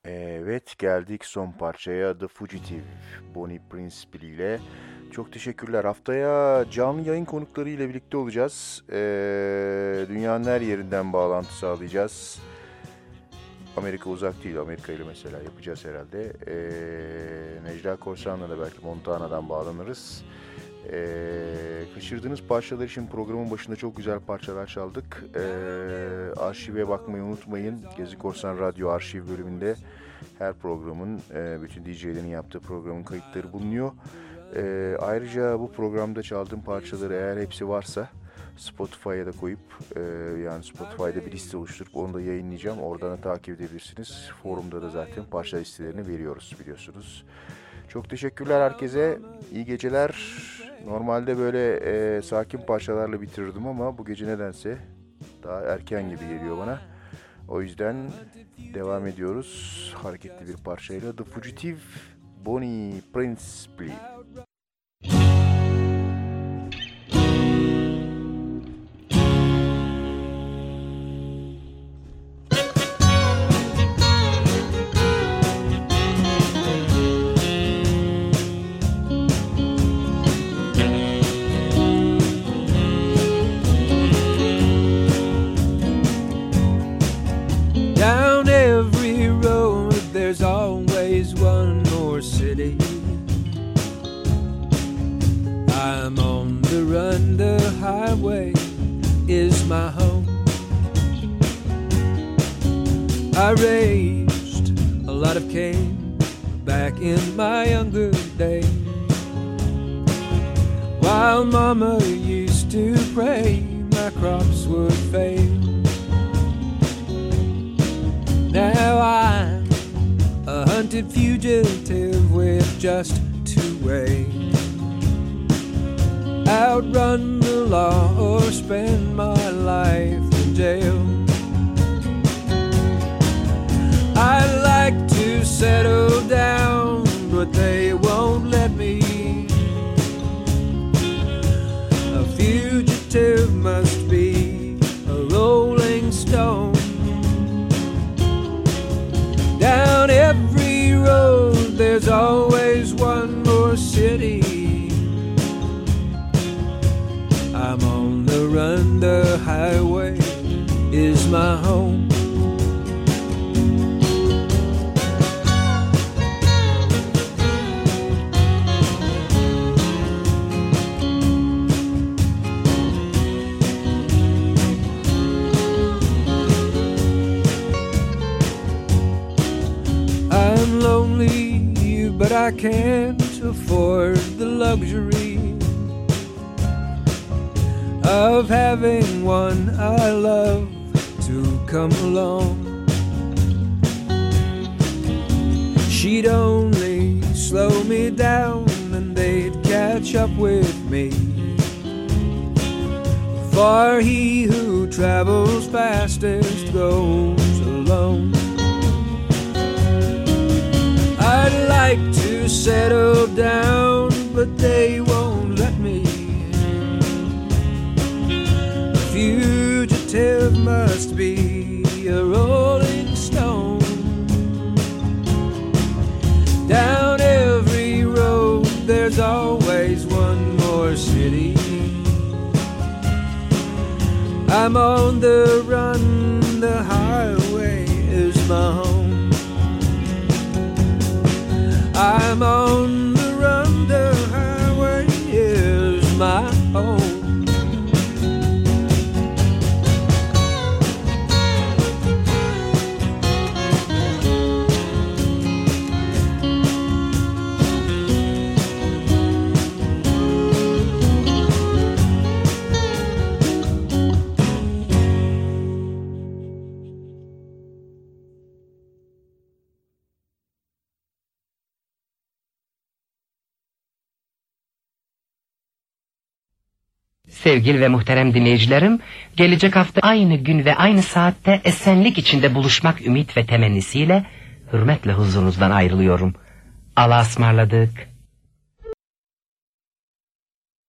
Evet, geldik son parçaya, The Fugitive, Bonnie Prince Billy ile. Çok teşekkürler. Haftaya canlı yayın konukları ile birlikte olacağız. Dünyanın her yerinden bağlantı sağlayacağız. Amerika uzak değil. Amerika ile mesela yapacağız herhalde. Necla Korsan'la da belki Montana'dan bağlanırız. Kaçırdığınız parçalar için programın başında çok güzel parçalar çaldık. Arşive bakmayı unutmayın. Gezi Korsan Radyo Arşiv bölümünde her programın, bütün DJ'lerin yaptığı programın kayıtları bulunuyor. Ayrıca bu programda çaldığım parçaları eğer hepsi varsa Spotify'a da koyup yani Spotify'da bir liste oluşturup onu da yayınlayacağım. Oradan da takip edebilirsiniz. Forumda da zaten parça listelerini veriyoruz biliyorsunuz. Çok teşekkürler herkese. İyi geceler. Normalde böyle sakin parçalarla bitirirdim ama bu gece nedense daha erken gibi geliyor bana. O yüzden devam ediyoruz. Hareketli bir parçayla The Fugitive, Bonnie Prince Billy. Down every road there's always one more city. I'm on the run, the highway is my home. I raised a lot of cane back in my younger days, while mama used to pray my crops would fail. Now I'm a hunted fugitive with just two ways: outrun the law or spend my life in jail. I'd like to settle down, but they won't let me. A fugitive must be a rolling stone. Down every road there's always one more city. I'm on the run, the highway is my home. I'm lonely, but I can't afford the luxury of having one I love to come along. She'd only slow me down and they'd catch up with me, for he who travels fastest goes alone. I'd like to settle down, but they won't let me. A fugitive must be a rolling stone. Down every road there's always one more city. I'm on the run, the highway is my home. I'm on the run, the highway is my home. Sevgili ve muhterem dinleyicilerim, gelecek hafta aynı gün ve aynı saatte esenlik içinde buluşmak ümit ve temennisiyle hürmetle huzurunuzdan ayrılıyorum. Allah'a ısmarladık.